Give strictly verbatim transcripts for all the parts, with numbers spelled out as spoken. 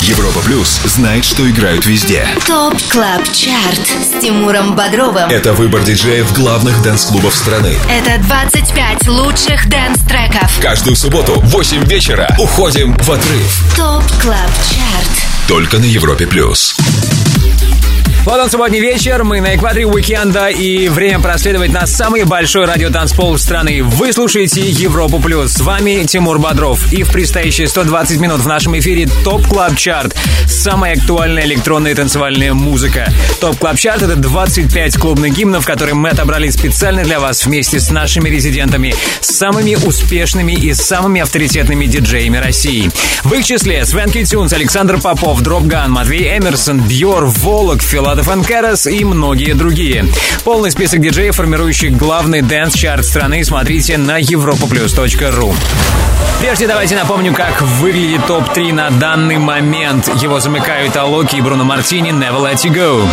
Европа Плюс знает, что играют везде. ТОП Клаб Чарт с Тимуром Бодровым. Это выбор диджеев главных дэнс-клубов страны. Это двадцать пять лучших дэнс-треков. Каждую субботу в восемь вечера уходим в отрыв. ТОП Клаб Чарт. Только на Европе Плюс. Вот он, субботний вечер, мы на экваторе уикенда, и время проследовать на самый большой радиотанцпол страны. Вы слушаете Европу Плюс. С вами Тимур Бодров. И в предстоящие сто двадцать минут в нашем эфире ТОП Клаб Чарт. Самая актуальная электронная и танцевальная музыка. ТОП Клаб Чарт — это двадцать пять клубных гимнов, которые мы отобрали специально для вас вместе с нашими резидентами, самыми успешными и самыми авторитетными диджеями России. В их числе Свенки Тюнс, Александр Попов, Дропган, Матвей Эмерсон, Бьор, Волок, Филадельфия Фанкерас и многие другие. Полный список диджеев, формирующих главный дэнс-чарт страны, смотрите на европа плюс точка ру. Прежде давайте напомню, как выглядит топ три на данный момент. Его замыкают Алоки и Бруно Мартини, Never Let You Go.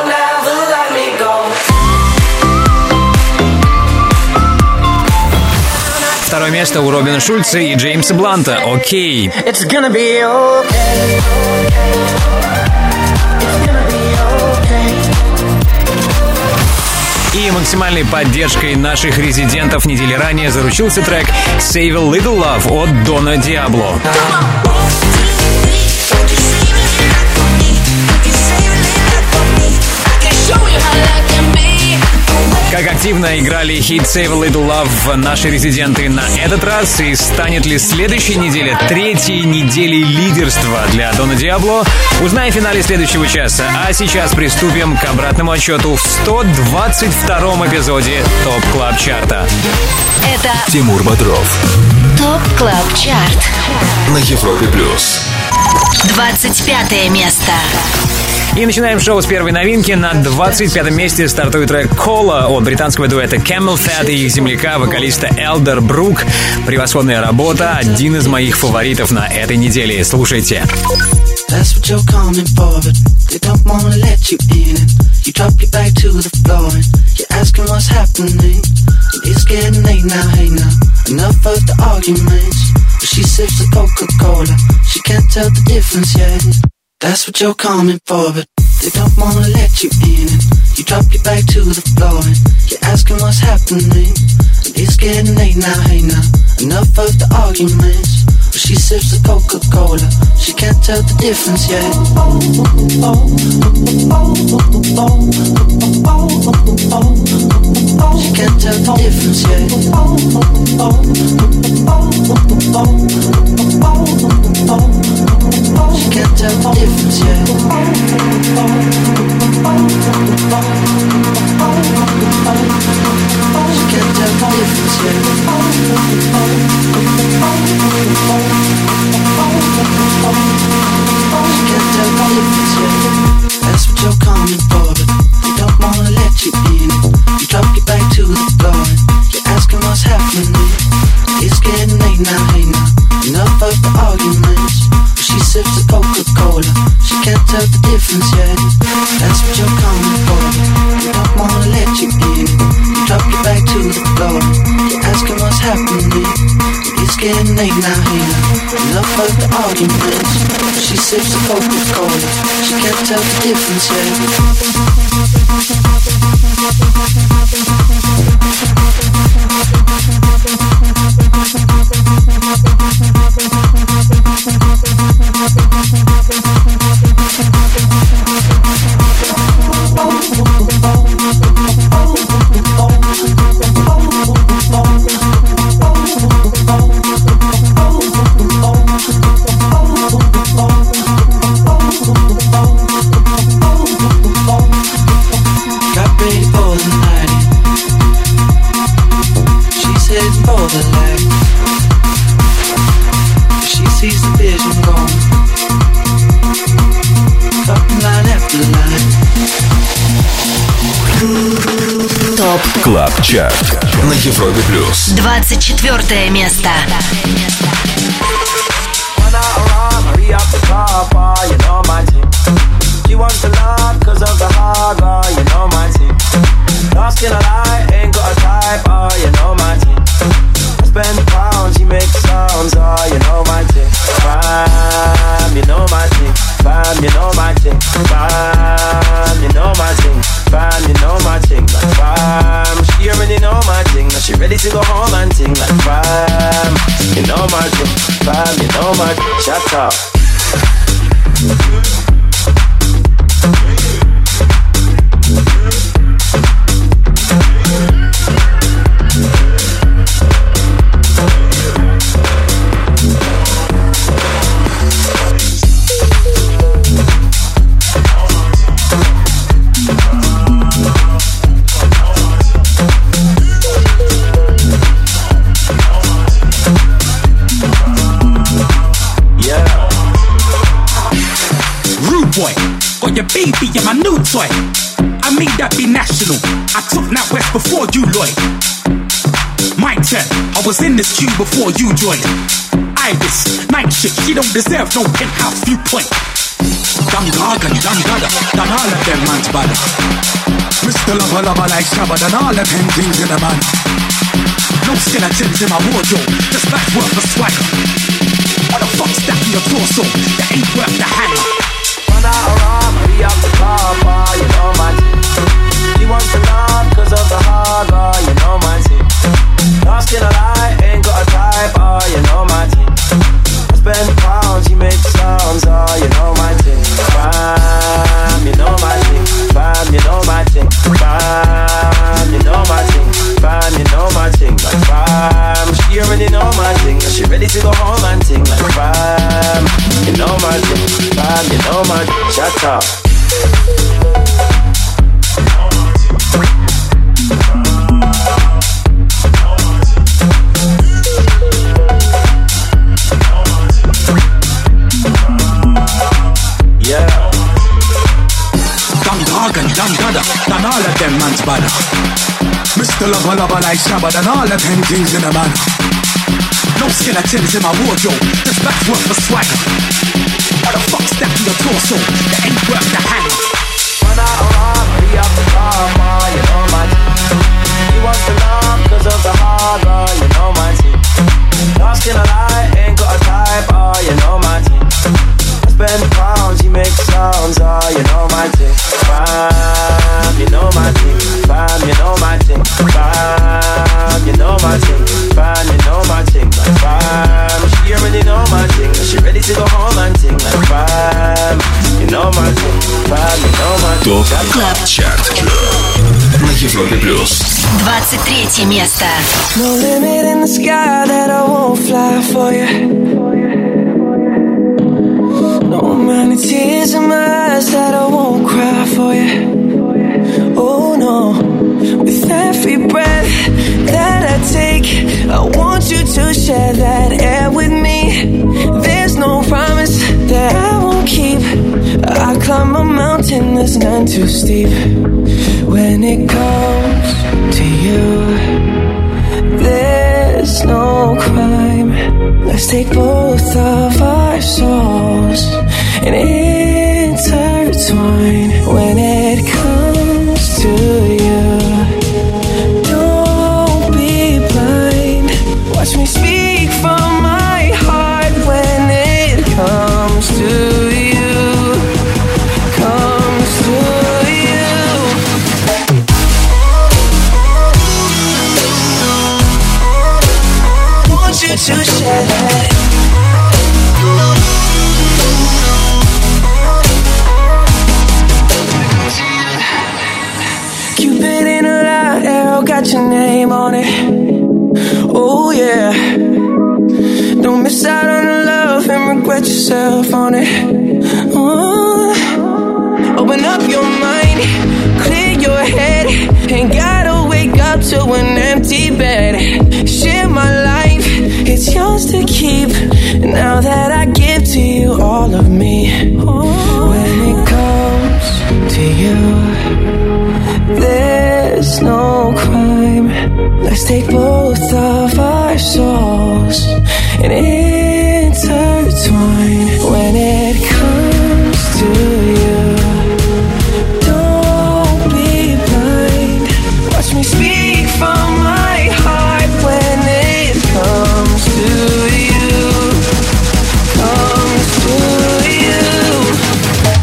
Второе место у Робина Шульца и Джеймса Бланта, «Окей». И максимальной поддержкой наших резидентов недели ранее заручился трек «Save a Little Love» от Дона Диабло. Как активно играли хит «Save a Little Love» наши резиденты на этот раз, и станет ли следующая неделя третьей неделей лидерства для Дона Диабло, узнаем в финале следующего часа. А сейчас приступим к обратному отчету в сто двадцать втором эпизоде ТОП Клаб Чарта. Это Тимур Бодров. ТОП Клаб Чарт На Европе Плюс. двадцать пятое место. И начинаем шоу с первой новинки. На двадцать пятом месте стартует трек «Кола» от британского дуэта Camel Fat и их земляка, вокалиста Элдер Брук. Превосходная работа, один из моих фаворитов на этой неделе. Слушайте. That's what you're coming for, but they don't wanna let you in. You drop your back to the floor and you're asking what's happening. And it's getting late now, hey now. Enough of the arguments. But she sips the Coca-Cola, she can't tell the difference yet. That's what you're coming for, but they don't wanna let you in. And you drop your back to the floor and you're asking what's happening. And it's getting late now, hey now. Enough of the arguments. But she sips the Coca-Cola, she can't tell the difference yet. She can't tell the difference yet. She can't tell the difference yet. She can't tell the difference yet. She can't tell the difference yet. That's what you're coming for, but they don't wanna let you in. You drop your back to the floor and you're asking what's happening. It's getting late now, hey now. Enough of the arguments. She sips the Coca-Cola, she can't tell the difference yet. That's what you're coming for, they don't wanna let you in. You drop your back to the floor, you're asking what's happening. It's getting late now, hey now. Enough of the arguments. She sips the Coca-Cola, she can't tell the difference yet. Клаб Чарт на Европе Плюс. двадцать четвертое место. She wants to love cause of the hard, oh, you know my team. Lost in a lie, ain't got a type, oh, you know my team. I spend pounds, she makes sounds, oh, you know my team. Crime, you know my team. Bam, you know my thing. Bam, you know my thing. Bam, you know my thing. Like bam, she already know my thing. Now she ready to go home and ting. Like bam, you know my thing. Bam, you know my thing. Shut up. Your baby and my new toy. I made that be national. I took Nat West before you, Lloyd. My turn. I was in this queue before you joined. Iris, night shift. She don't deserve no penthouse viewpoint. Dum gaga, dum gada, done all of them man's body. Mister Lover Lover like Shabba, done all of them things in the man. No skeletons in my wardrobe, just that's worth a swagger. What the fuck's that in your torso? That ain't worth the hanger. We up the car bar, you know my team. She wants to love cause of the hard bar, you know my team. Lost in a lie, ain't got a type, oh, you know my team. I spend pounds, she makes sounds, oh, you know my team. Bam, you know my team. Bam, you know my team. Bam, you know my team. Bam, you know my team. Like bam, she already know my thing. She ready to go home and ting. Like bam, you know my thing. Bam, you know my thing. Shut up. Yeah. Dum gaga, dum gada, done all of them man's body. Mister Lover Lover like Shabba, done all of them things in a man. No skeletons in my wardrobe, just that's worth a swagger. What the fuck's that in your torso? That ain't worth the hanger. When I arrive, we up the car, ma, you know my team. She wants to love cause of the hard bar, you know my team. Lost in a lie, ain't got a type, oh, you know my team. I spend pounds, she makes sounds, oh, you know my team. Bam, you know my team. Bam, you know my team. Bam, you know my team. Bam, you know my team. Like bam, she already know my thing. She ready to go home and ting. Like bam, you know my thing. Bam, you know my thing. Топ Клаб Чарт на Европе плюс. двадцать третье место. No limit in the sky that I won't fly for you. No amount of tears in my eyes that I won't cry for you. Oh no, with every breath that I take, I want you to share that air with me. There's no promise that I won't keep. I climb a mountain that's none too steep. When it comes to you, there's no crime. Let's take both of our souls and intertwine. When it comes to you, don't be blind. Watch me speak from my heart. When it comes to you, comes to you. Want you to share that. Cupid in a light arrow got your name on it. Oh yeah. Don't miss out on the love and regret yourself on it. Oh. Open up your mind, clear your head. Ain't gotta wake up to an empty bed. Share my life, it's yours to keep. Now that I give to you all of me. Oh. When it comes to you, there's no crime. Let's take both of our souls and intertwine. When it comes to you, don't be blind. Watch me speak from my heart. When it comes to you, comes to you.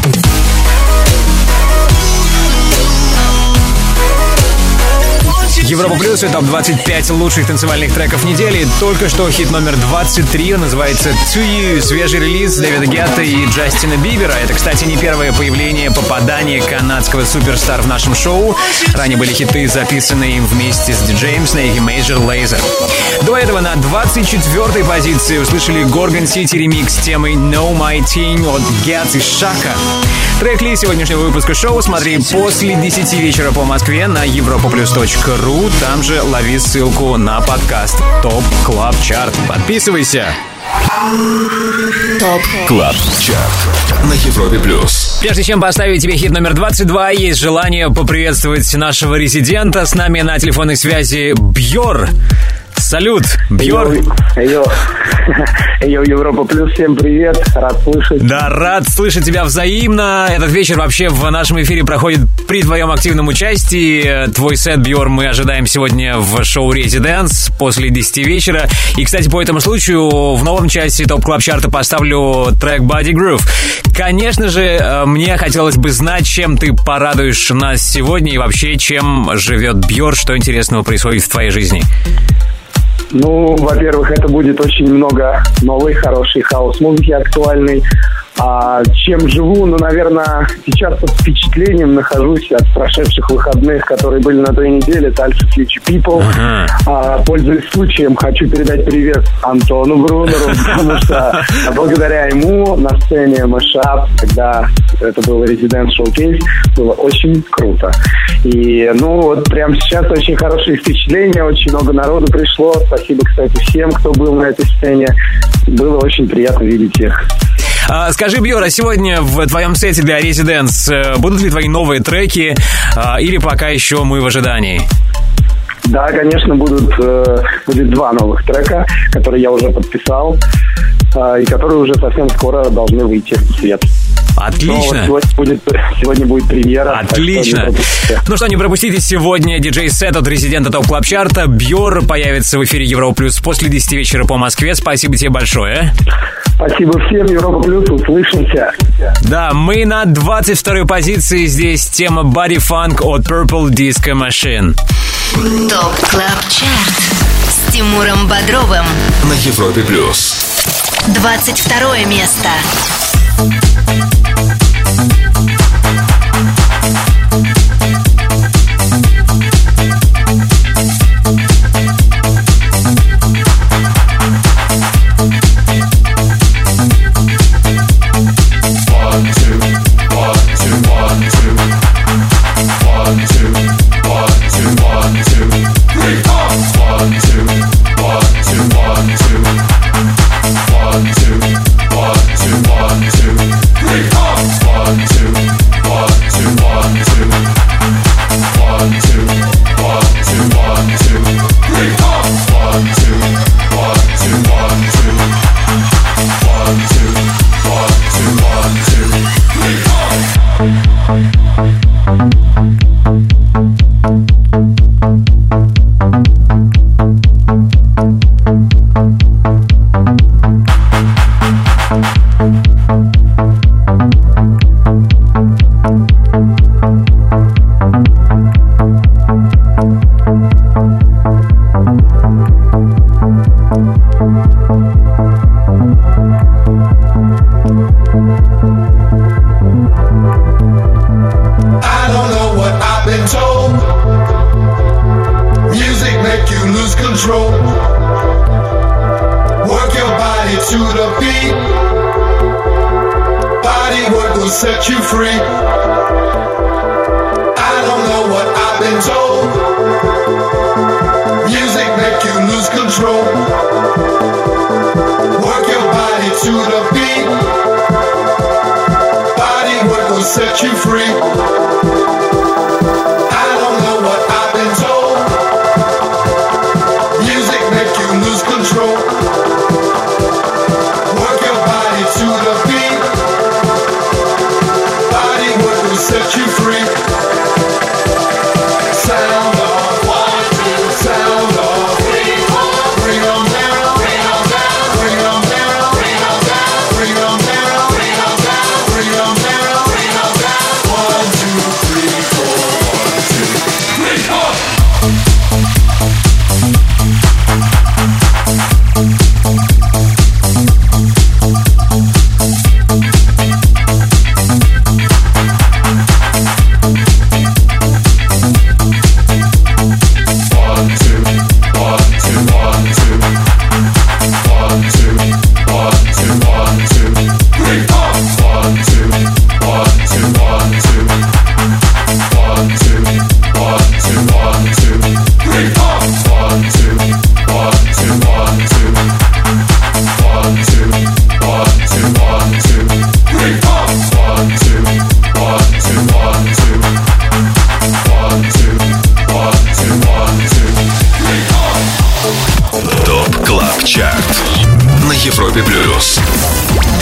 Плюс и топ двадцать пять лучших танцевальных треков недели. Только что хит номер двадцать три, называется To You, свежий релиз Дэвида Гетта и Джастина Бибера. Это, кстати, не первое появление, попадание канадского суперстара в нашем шоу. Ранее были хиты, записанные им вместе с диджеем Snake и Major Lazer. До этого на двадцать четвёртой позиции услышали Gorgon City ремикс темы Know My Thing от Gets и Шака. Трек-лист сегодняшнего выпуска шоу смотри после десяти вечера по Москве на европа-плюс точка ру. Там же лови ссылку на подкаст Топ Клаб Чарт. Подписывайся. Топ Клаб Чарт на Европе Плюс. Прежде чем поставить тебе хит номер двадцать два, есть желание поприветствовать нашего резидента. С нами на телефонной связи Бьор. Салют, Бьор. Йо, йо, Европа Плюс, всем привет, рад слышать. Да, рад слышать тебя взаимно. Этот вечер вообще в нашем эфире проходит при твоем активном участии. Твой сет, Бьор, мы ожидаем сегодня в шоу «Резиденс» после десяти вечера. И, кстати, по этому случаю в новом часе ТОП Клаб Чарта поставлю трек Body Groove. Конечно же, мне хотелось бы знать, чем ты порадуешь нас сегодня и вообще, чем живет Бьор, что интересного происходит в твоей жизни. Ну, во-первых, это будет очень много новой, хорошей хаус-музыки, актуальной. А чем живу? Ну, наверное, сейчас под впечатлением нахожусь от прошедших выходных, которые были на той неделе. Это Alpha Future People. Uh-huh. А, пользуясь случаем, хочу передать привет Антону Брунеру, потому что благодаря ему на сцене Mashup, когда это был Residence Showcase, было очень круто. И, ну, вот прямо сейчас очень хорошие впечатления, очень много народу пришло. Спасибо, кстати, всем, кто был на этой сцене. Было очень приятно видеть их. А, скажи, Бьор, а сегодня в твоем сете для Residence будут ли твои новые треки, а, или пока еще мы в ожидании? Да, конечно, будут, э, будет два новых трека, которые я уже подписал, э, и которые уже совсем скоро должны выйти в свет. Отлично. Сегодня будет, сегодня будет премьера. Отлично. Что ну что, не пропустите сегодня диджей-сет от резидента ТОП Клаб Чарта. Бьор появится в эфире Европа Плюс после десяти вечера по Москве. Спасибо тебе большое. Спасибо всем, Европа Плюс, услышимся. Да, мы на двадцать второй позиции. Здесь тема Body Funk от Purple Disco Machine. ТОП Клаб Чарт с Тимуром Бодровым на Европе Плюс. двадцать второе место.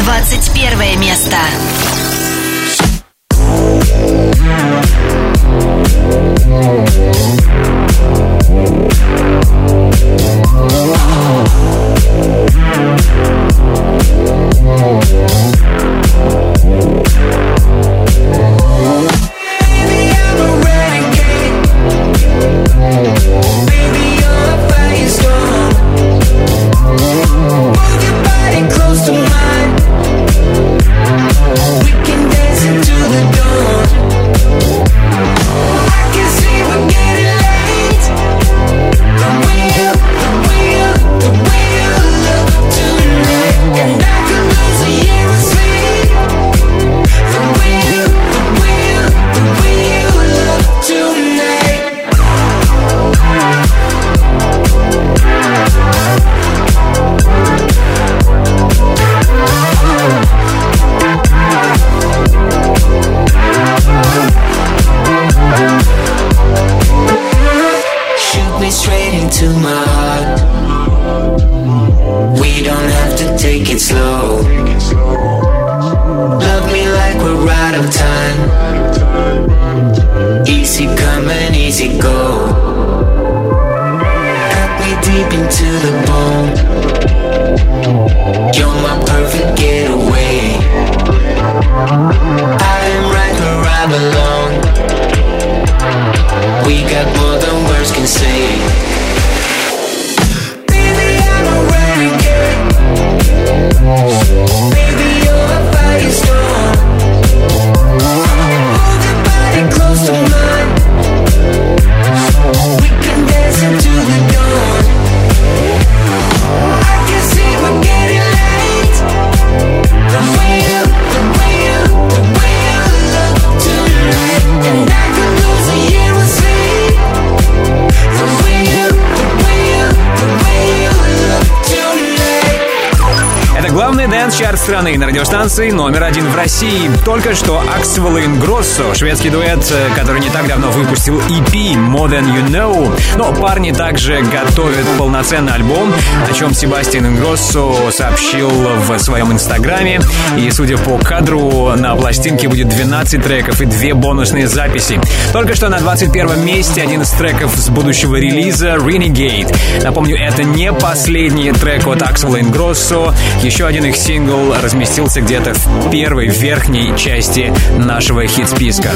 двадцать первое место. Чарт страны на радиостанции номер один в России. Только что Axwell и Ingrosso, шведский дуэт, который не так давно выпустил и пи More Than You Know. Но парни также готовят полноценный альбом, о чем Себастьян Ингроссо сообщил в своем инстаграме. И, судя по кадру, на пластинке будет двенадцать треков и две бонусные записи. Только что на двадцать первом месте один из треков с будущего релиза Renegade. Напомню, это не последний трек от Axwell и Ingrosso. Еще один их сингл разместился где-то в первой верхней части нашего хит-списка.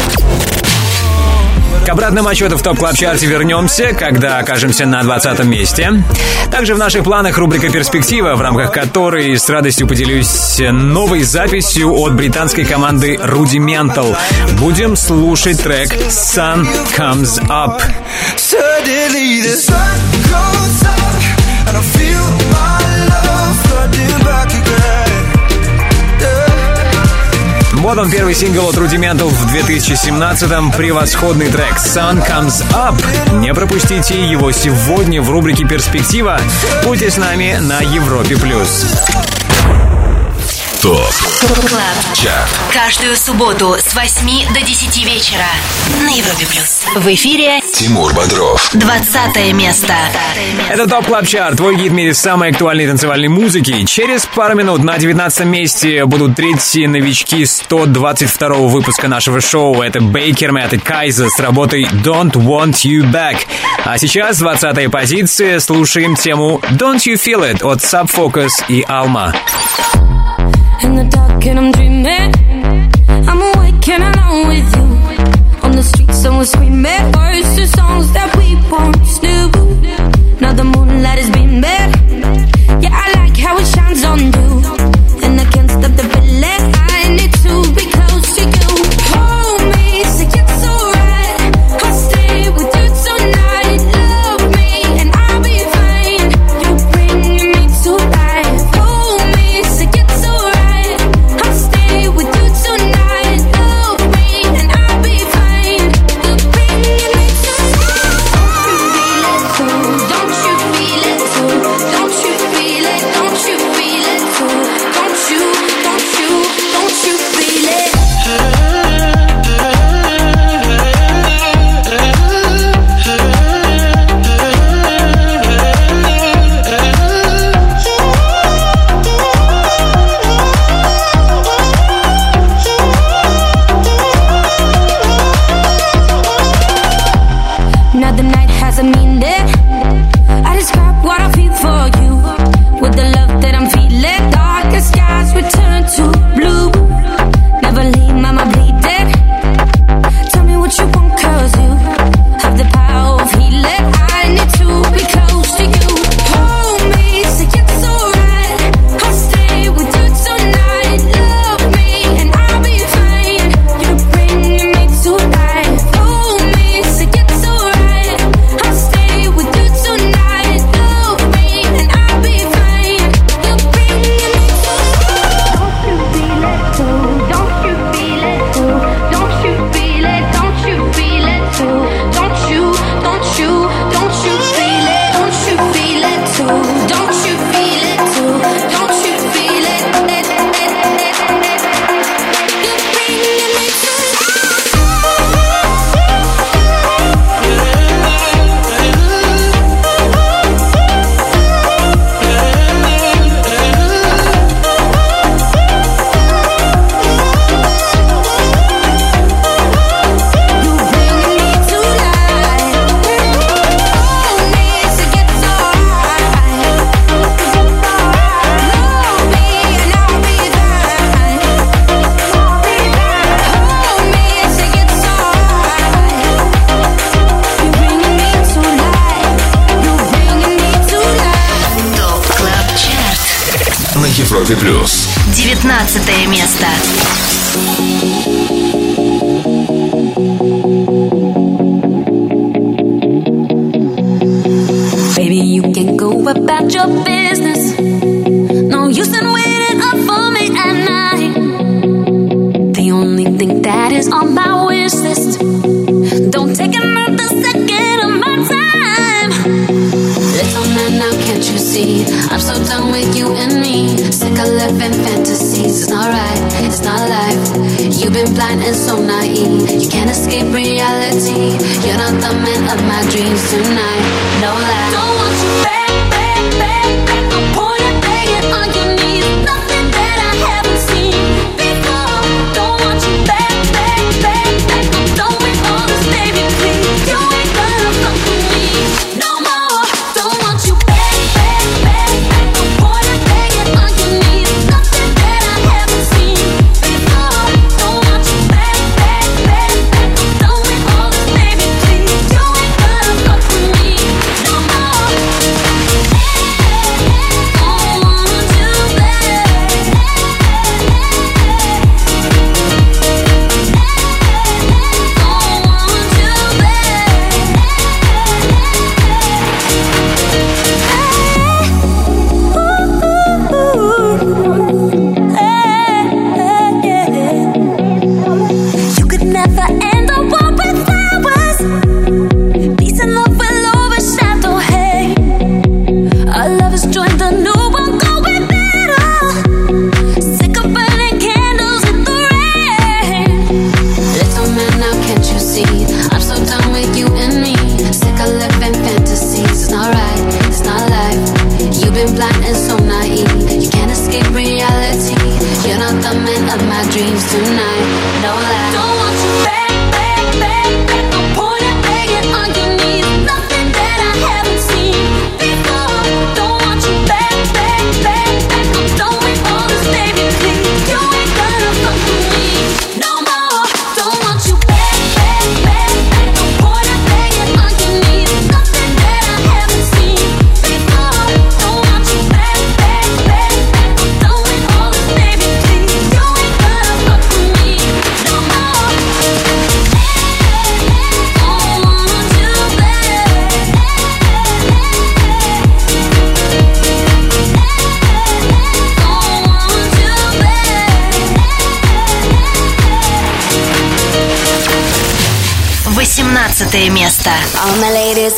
К обратному отчету в ТОП Клаб Чарте вернемся, когда окажемся на двадцатом месте. Также в наших планах рубрика «Перспектива», в рамках которой с радостью поделюсь новой записью от британской команды Rudimental. Будем слушать трек «Sun Comes Up». Вот он, первый сингл от Rudimental в две тысячи семнадцатом. Превосходный трек «Sun Comes Up». Не пропустите его сегодня в рубрике «Перспектива». Будьте с нами на Европе+. ТОП Клаб Чарт. Каждую субботу с восьми до десяти вечера на Европе Плюс. В эфире Тимур Бодров. двадцатое место. Это ТОП Клаб Чарт, твой гид в мире самой актуальной танцевальной музыки. Через пару минут на девятнадцатом месте будут третьи новички сто двадцать второго выпуска нашего шоу. Это Бейкер Мэтт и Кайза с работой Don't Want You Back. А сейчас двадцатая позиция. Слушаем тему Don't You Feel It от Sub Focus и Alma. In the dark and I'm dreaming, I'm awake and alone with you. On the streets someone screaming words to songs that we once knew. Now the moonlight is beaming, yeah I like how it shines on you. And I can't stop the feeling, I need to be close to you. Hold me, say it's alright, I'll stay with you tonight. Love me and I'll be fine, you're bringing me to life. Hold me, say it's alright, I'll stay with you Европе плюс. девятнадцатое место. Baby, you can go about your business. No use in waiting up for me at night. The only thing that is on my wish list. Don't take another second of my time. Little man, now can't you see? I'm so done with you and me. Sick of living fantasies. It's not right, it's not life. You've been blind and so naive. You can't escape reality. You're not the man of my dreams tonight. No lie. Don't want you back, back, back, back. I'm pointing, begging on your knees. Nothing that I haven't seen before. Don't want you back, back, back, back. I'm done with all this, baby, please. You ain't gonna fuck with me no more. Don't want you back, back, back, back. I'm pointing, begging on your knees. Nothing that I haven't seen before. Don't want you back, back, back, back. I'm done with all this, baby, please. You ain't gonna fuck with me no more. Don't want you back. Don't want you You could never end a war with flowers. Peace and love will overshadow hate. Our love has joined the new one going better. Sick of burning candles in the rain. Little man, now can't you see? I'm so done with you and me. Sick of living fantasies. It's not right, it's not life. You've been blind and so naive. You can't escape reality. You're not the man of my dreams tonight. No lie. Don't want you back, back, back, back. I'm pointing, begging on your knees. Nothing that I haven't seen before. Don't want you back, back, back, back. I'm done with all this, baby, please. You ain't gonna fuck with me no more. Don't want you back, back, back, back. I'm pointing, begging on your knees. Nothing that I haven't seen before. Don't want you back, back, back, back. I'm done with all this, baby, please. You ain't gonna fuck with me no more. Don't want you back. Don't want you back. восемнадцатое место. All my ladies.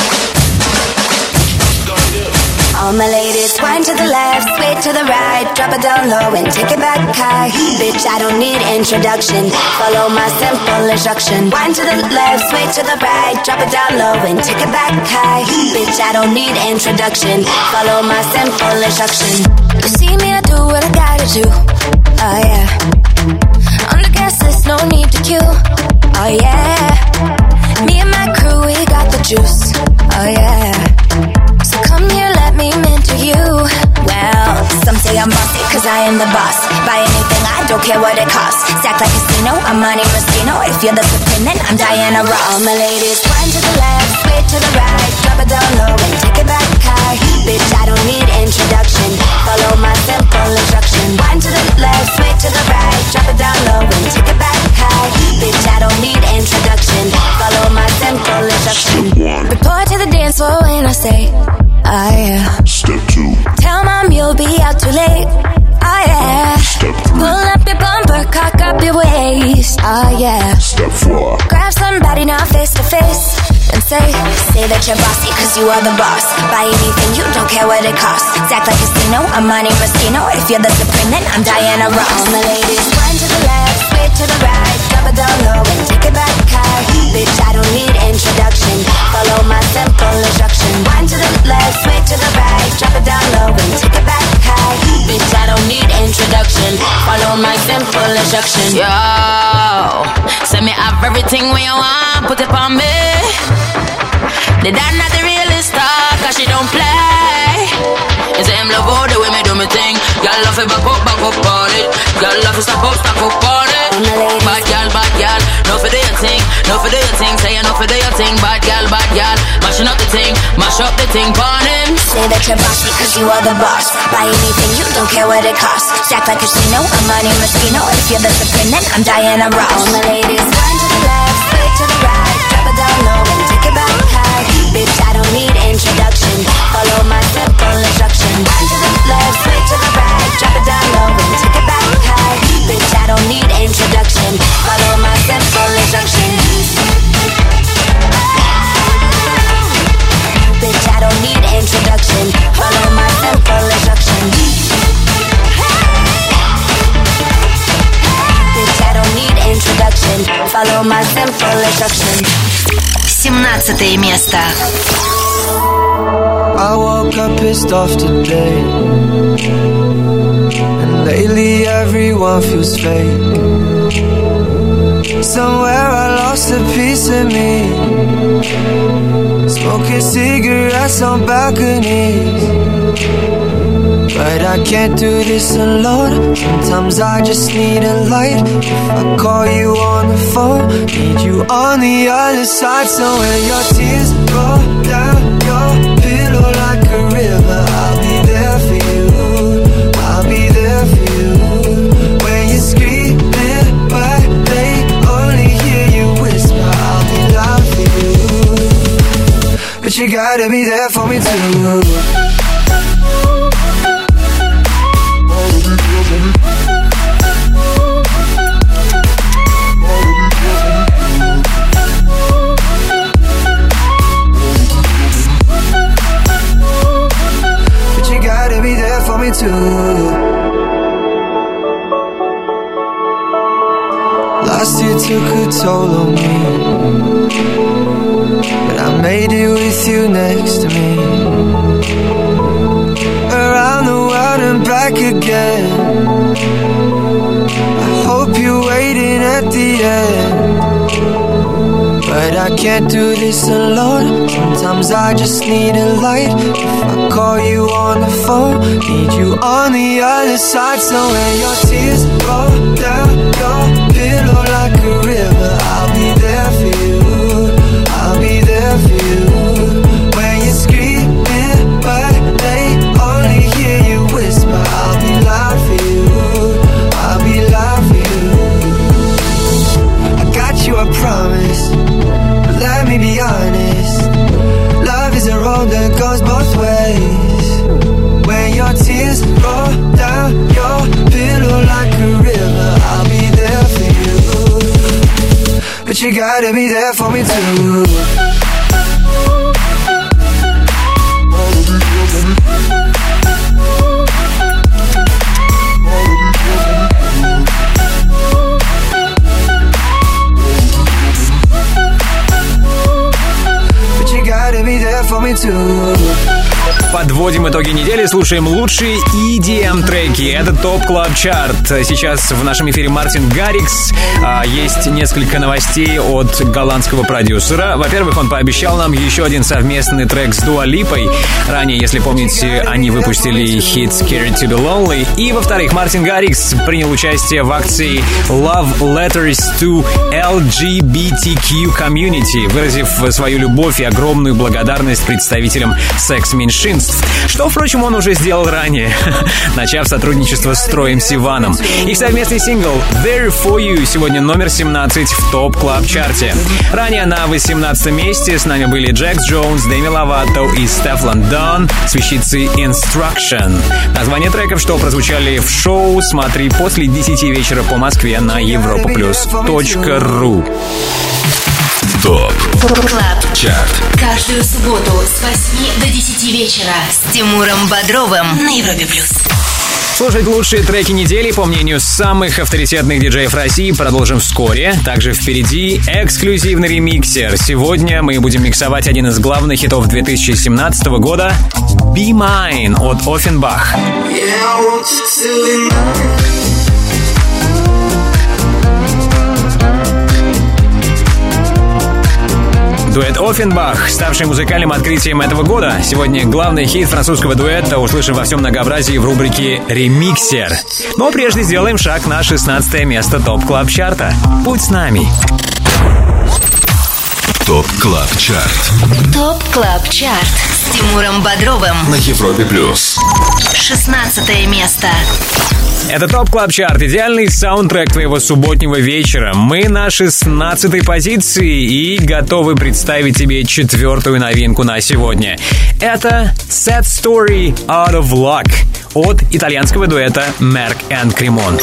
All my ladies, wind to the left, sway to the right, drop it down low and take it back high. Bitch, I don't need introduction. Follow my simple instruction. Wind to the left, sway to the right, drop it down low and take it back high. Bitch, I don't need introduction. Follow my simple instruction. You see me, I do what I gotta do. Oh yeah. On the gas list, no need to queue. Oh yeah. Me and my crew, we got the juice. Oh yeah. So come here, let me mentor you. Well, some say I'm bossy cause I am the boss. Buy anything, I don't care what it costs. Stack like casino, I'm Monte Moschino. If you're the supreme, then I'm Diana Ross. All my ladies, wind to the left, sway to the right, drop it down low and take it back high. Bitch, I don't need introduction. Follow my simple instruction. Wind to the left, sway to the right, drop it down low and take it back high. Bitch, I don't need introduction. Follow my simple instruction. Report to the dance floor when I say, oh yeah. Step two. Tell mom you'll be out too late. Oh yeah. Step three. Pull up your bumper, cock up your waist. Oh yeah. Step four. Grab somebody now face to face and say, say that you're bossy cause you are the boss. Buy anything, you don't care what it costs. Act like casino, I'm Monte Moschino. If you're the supreme, then I'm Diana Ross. All my ladies, wind to the left, sway to the right, drop it down low and take it back high. Bitch, I don't need introduction. Follow my simple instruction. Wind to the left, sway to the right, drop it down low and take it back high. Bitch, I don't need introduction. Follow my simple instruction. Yo, send me have everything when you want, put it on me. The dad not the realest star, cause she don't play. You say him love all the way me do me thing. Y'all love it back up, back up on it. Y'all love it stop up, stop up on it. Bad gal, bad gal, no for do your thing, no for do your thing. Say you no for do your thing, bad gal, bad gal. Mashing up the thing, mash up the thing, burn him. Say that you're bossy cause you are the boss. Buy anything, you don't care what it costs. Stack like a casino, I'm Money Moschino. If you're the supreme, then I'm Diana Ross. All my ladies, one to the left, straight to the right. Drop it down low and take it back high. Bitch, I don't need introduction. Follow my simple instruction. One to the left, straight to the right. Drop it down low and take it back high. Bitch, I don't need introduction. Follow my simple instruction. Bitch, I don't need introduction. Follow my simple instruction. Bitch, I don't need introduction. Follow my simple instruction. семнадцатое место. I woke up pissed off today, and lately everyone feels fake. Somewhere I lost a piece of me, smoking cigarettes on balconies. But I can't do this alone. Sometimes I just need a light. If I call you on the phone, need you on the other side. So when your tears roll down your pillow like a river, I'll be there for you. I'll be there for you. When you're screaming but they only hear you whisper, I'll be loud for you. But you gotta be there for me too. Last year took a toll on me, but I made it with you next to me. Around the world and back again. I hope you're waiting at the end, but I can't do this alone. Sometimes I just need a light. If I call you on the phone, need you on the other side. So when your tears roll down your pillow like a river, I'll be there for you. I'll be there for you. When you're screaming but they only hear you whisper, I'll be loud for you. I'll be loud for you. I got you, I promise. Let me be honest, love is a road that goes both ways. When your tears roll down your pillow like a river, I'll be there for you. But you gotta be there for me too. Подводим итоги недели, слушаем лучшие и ди эм-треки. Это ТОП Клаб Чарт. Сейчас в нашем эфире Мартин Гаррикс. Есть несколько новостей от голландского продюсера. Во-первых, он пообещал нам еще один совместный трек с Дуа Липой. Ранее, если помните, они выпустили хит Scared to be Lonely. И, во-вторых, Мартин Гаррикс принял участие в акции Love Letters to эл джи би ти кью Community, выразив свою любовь и огромную благодарность представителям секс-меньшинств. Что, впрочем, он уже сделал ранее, начав сотрудничество с Троем Сиваном. Их совместный сингл There For You сегодня номер семнадцать в ТОП Клаб Чарте. Ранее на восемнадцатом месте с нами были Джекс Джонс, Дэми Ловато и Стефлан Дон с вещицей Instruction. Название треков, что прозвучали в шоу, смотри после десяти вечера по Москве на европа плюс точка ру. ТОП Клаб Чарт. Каждую субботу с восьми до десяти вечера с Тимуром Бодровым на Европе плюс. Слушать лучшие треки недели, по мнению самых авторитетных диджеев России, продолжим вскоре. Также впереди эксклюзивный ремиксер. Сегодня мы будем миксовать один из главных хитов две тысячи семнадцатого года «Be Mine» от Оффенбах. Дуэт Оффенбах, ставший музыкальным открытием этого года. Сегодня главный хит французского дуэта услышим во всем многообразии в рубрике «Ремиксер». Но прежде сделаем шаг на шестнадцатое место ТОП Клаб Чарта. Будь с нами. ТОП КЛАБ ЧАРТ. ТОП КЛАБ ЧАРТ с Тимуром Бодровым на Европе плюс. шестнадцатое место. Это ТОП КЛАБ ЧАРТ, идеальный саундтрек твоего субботнего вечера. Мы на шестнадцатой позиции и готовы представить тебе четвертую новинку на сегодня. Это Sad Story Out of Luck от итальянского дуэта Merck and Cremont.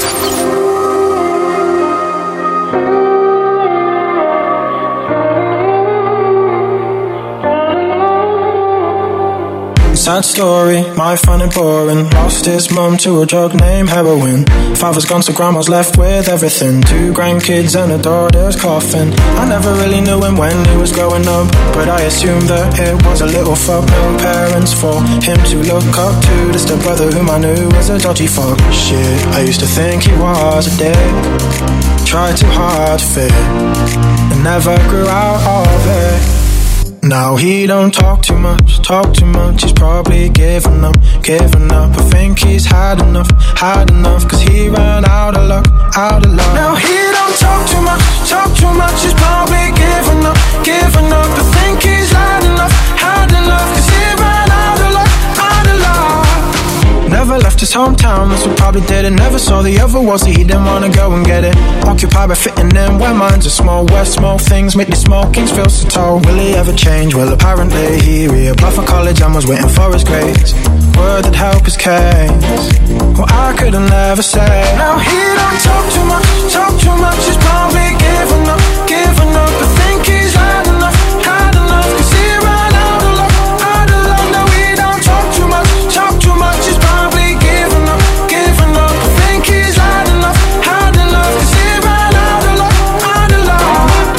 Sad story, my fun and boring. Lost his mum to a drug named heroin. Father's gone so grandma's left with everything. Two grandkids and a daughter's coffin. I never really knew him when he was growing up, but I assumed that it was a little fuck. No parents for him to look up to. Just a brother whom I knew was a dodgy fuck. Shit, I used to think he was a dick. Tried too hard to fit and never grew out of it. Now he don't talk too much, talk too much. He's probably given up, given up. I think he's had enough, had enough. Cause he ran out of luck, out of luck. Now he don't talk too much, talk too much. He's probably given up, given up. I think he's had enough, had enough. Cause he ran out of luck, out of luck. Never left his hometown, that's what probably did it. Never saw the other world, so he didn't wanna go and get it. Occupied by fitting in where minds are small. Where small things make these small kings feel so tall. Will he ever change? Well, apparently he reapplied for college and was waiting for his grades. Word that help his case. Well, I couldn't ever say. Now he don't talk too much, talk too much. He's probably given up, given up. I think he's had enough, had enough. Cause he ran out of luck, out of luck. Now he don't talk too much, talk too much. He's probably given up, given up. I think he's had enough, had enough. Cause he ran out of luck, out of luck.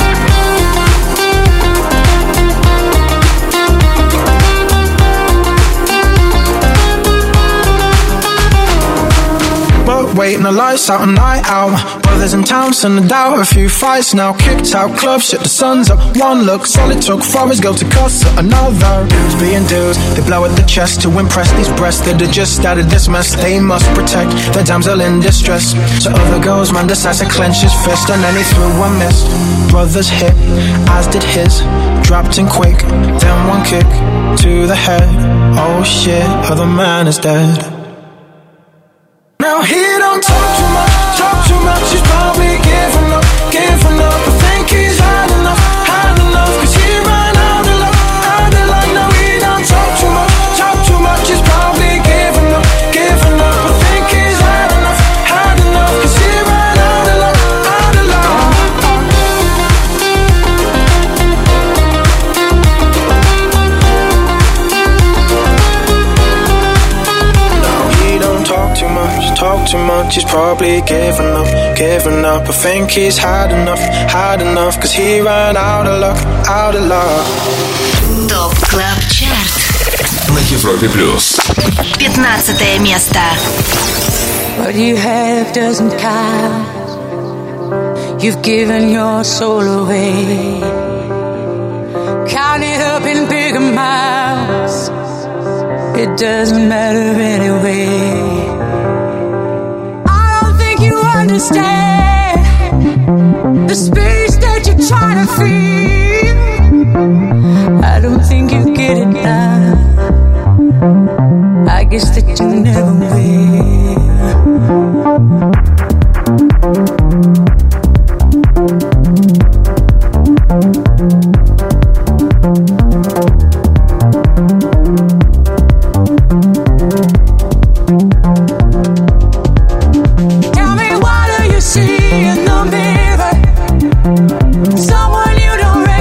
But waiting the lights out, a night out. Brothers in town, send a doubt. A few fights now, kicked out club, shit the sun's up. One look, solid took for his girl to cuss at another. Dudes being dudes, they blow at the chest to impress these breasts that are just out of this mess. They must protect the damsel in distress. So other girls, man decides to clench his fist, and then he threw a miss. Brothers hit, as did his. Dropped in quick, then one kick to the head. Oh shit, other man is dead. Now he don't talk too much, talk too much. He's probably given up, given up. I think he's had enough, had enough. Cause he ran out of luck, out of luck. Now he don't talk too much, talk too much. He's probably given up, given up. I think he's had enough, had enough. Cause he ran out of luck, out of luck. Now he don't talk too much, talk too much. He's probably given up, given up. I think he's had enough, had enough. Cause he ran out of luck, out of luck. ТОП КЛАБ ЧАРТ на Европе плюс. пятнадцатое место. What you have doesn't count. You've given your soul away. Count it up in big amounts. It doesn't matter anyway. Understand the space that you're trying to feel. I don't think you get it now. I guess that you never will. Someone you don't recognize.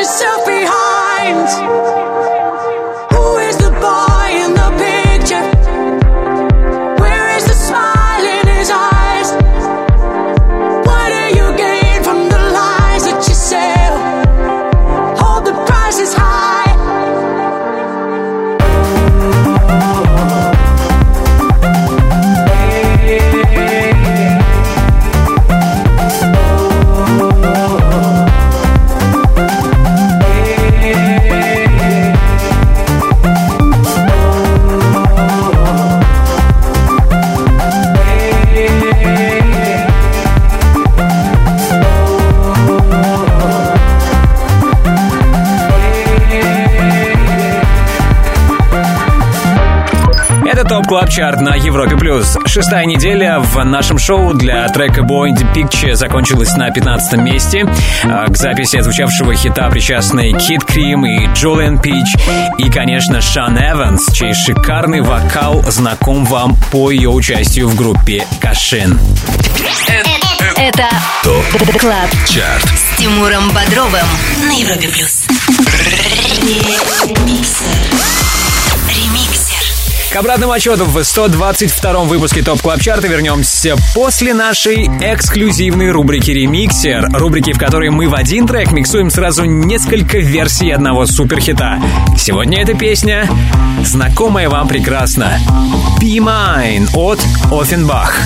yourself behind. Who is the boy in the picture? Where is the smile in his eyes? What do you gain from the lies that you sell? Hold the prices high. Топ Клаб Чарт на Европе Плюс. Шестая неделя в нашем шоу для трека Boy in the Picture закончилась на пятнадцатом месте. К записи отзвучавшего хита причастны Kid Cream и Julian Peach. И, конечно, Шан Эванс, чей шикарный вокал знаком вам по ее участию в группе Кашин. Это ТОП Клаб Чарт с Тимуром Бодровым на Европе Плюс. К обратному отчету в сто двадцать втором выпуске ТОП Клаб Чарта вернемся после нашей эксклюзивной рубрики «Ремиксер». Рубрики, в которой мы в один трек миксуем сразу несколько версий одного суперхита. Сегодня эта песня знакомая вам прекрасно. «Be Mine» от Оффенбах.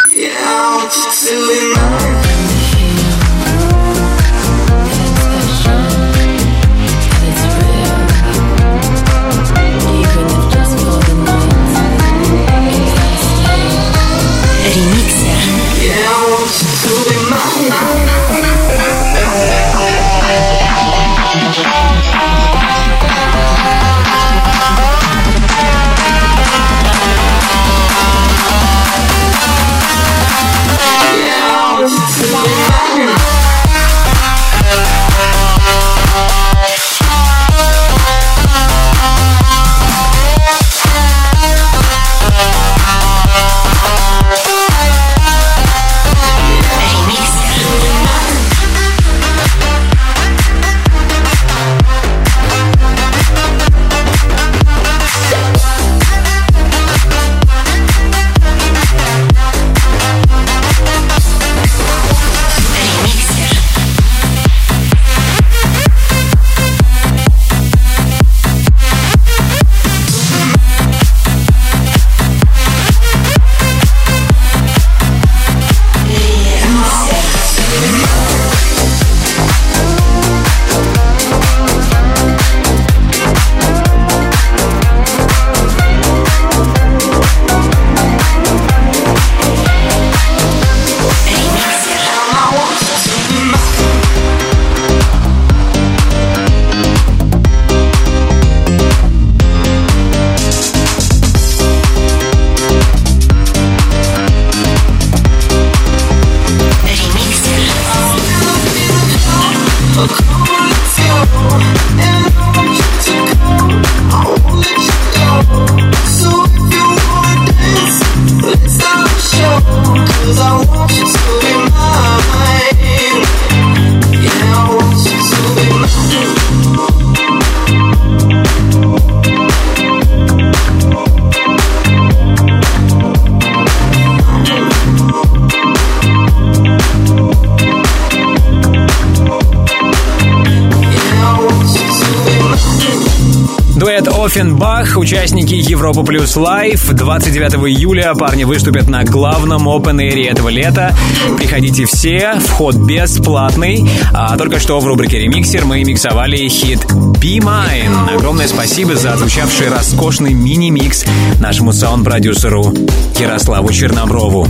Оффенбах, участники Европа Плюс Лайв. двадцать девятого июля парни выступят на главном опен-эйре этого лета. Приходите все, вход бесплатный. А только что в рубрике «Ремиксер» мы миксовали хит «Be Mine». Огромное спасибо за отзвучавший роскошный мини-микс нашему саунд-продюсеру Ярославу Черноброву.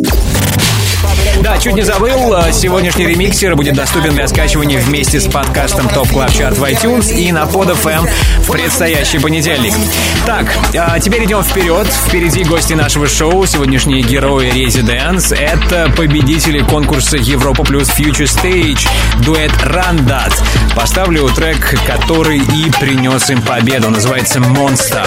Да, чуть не забыл, сегодняшний ремиксер будет доступен для скачивания вместе с подкастом Top Club Chart в iTunes и на Pod эф эм в предстоящий понедельник. Так, а теперь идем вперед. Впереди гости нашего шоу, сегодняшние герои Residence. Это победители конкурса Европа Плюс Future Stage, дуэт Run That. Поставлю трек, который и принес им победу. Называется «Monster».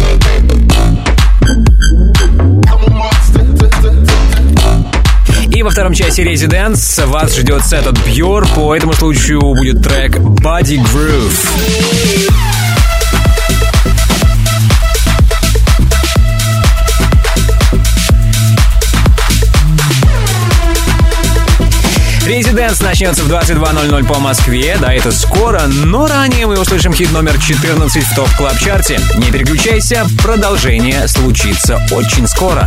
И во втором часе Residence вас ждет сет от Pure. По этому случаю будет трек Body Groove. Residence начнется в двадцать два ноль ноль по Москве. Да, это скоро, но ранее мы услышим хит номер четырнадцать в ТОП Клаб Чарте. Не переключайся, продолжение случится очень скоро.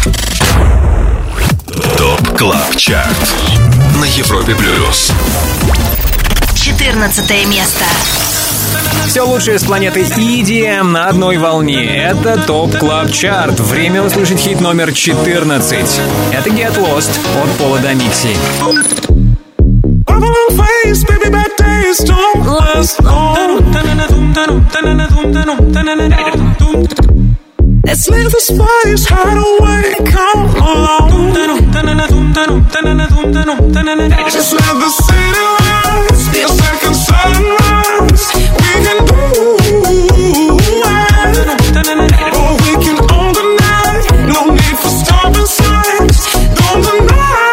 ТОП Клаб Чарт на Европе Плюс. четырнадцатое место. Все лучшее с планеты и ди эм на одной волне. Это ТОП Клаб Чарт. Время услышать хит номер четырнадцать. Это Get Lost от Пола Домикси. Let's leave the spice hideaway. Come along. Just let the city rise. Be a second sunrise. We can do it. Or we can own the night. No need for stopping signs. Don't deny.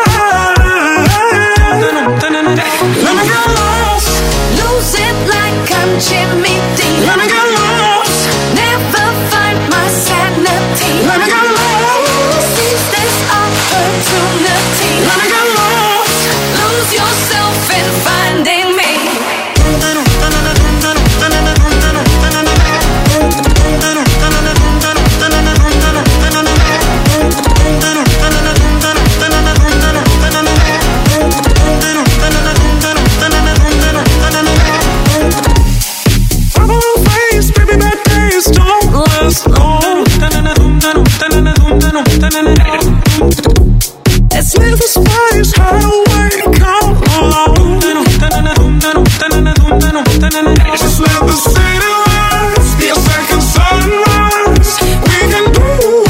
Let me get lost. Lose it like I'm Jimmy Dean. Let me get lost. Never find my sanity. Let me get lost. Seize this opportunity. Let me get lost. Lose yourself in finding me. Let's leave the spice hideaway. Come along. Just let the city rise. Be a second sunrise. We can do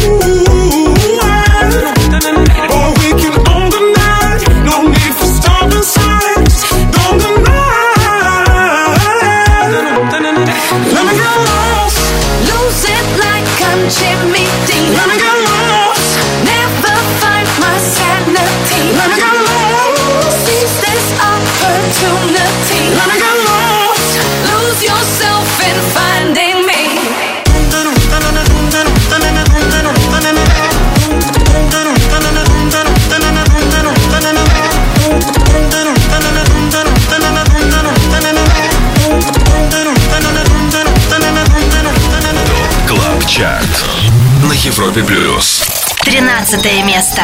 it. Or we can own the night. No need for stopping signs. Don't deny. Let me get lost. Lose it like I'm Jimmy Dean. Let me get lost. Never find my sanity. Let me get lost. Seize this opportunity. Let me get lost. Lose yourself in finding me. Клаб Чарт на Европе Плюс. тринадцатое место.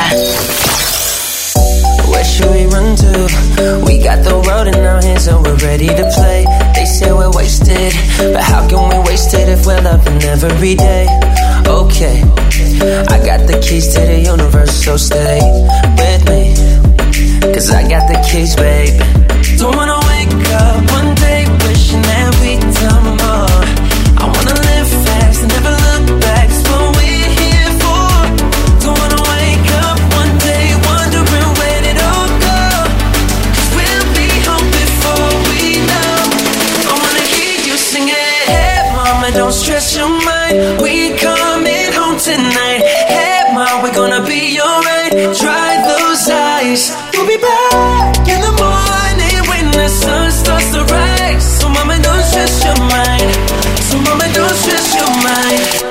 Where should we run to? We got the world in our hands and we're ready to play. They say we're wasted, but how can we waste it if we're loving every day? Okay, I got the keys to the universe, so stay with me. Cause I got the keys, babe. Don't wanna wake up one day wishing that we'd done more. I wanna live fast and never look back. It's what we're here for. Don't wanna wake up one day wondering where did it all go. Cause we'll be home before we know. I wanna hear you singing. Hey mama, don't stress your mind. We coming home tonight. Hey mom, we're gonna be alright. Dry those eyes. We'll be back in the morning when the sun starts to rise. So mama, don't stress your mind. So mama, don't stress your mind.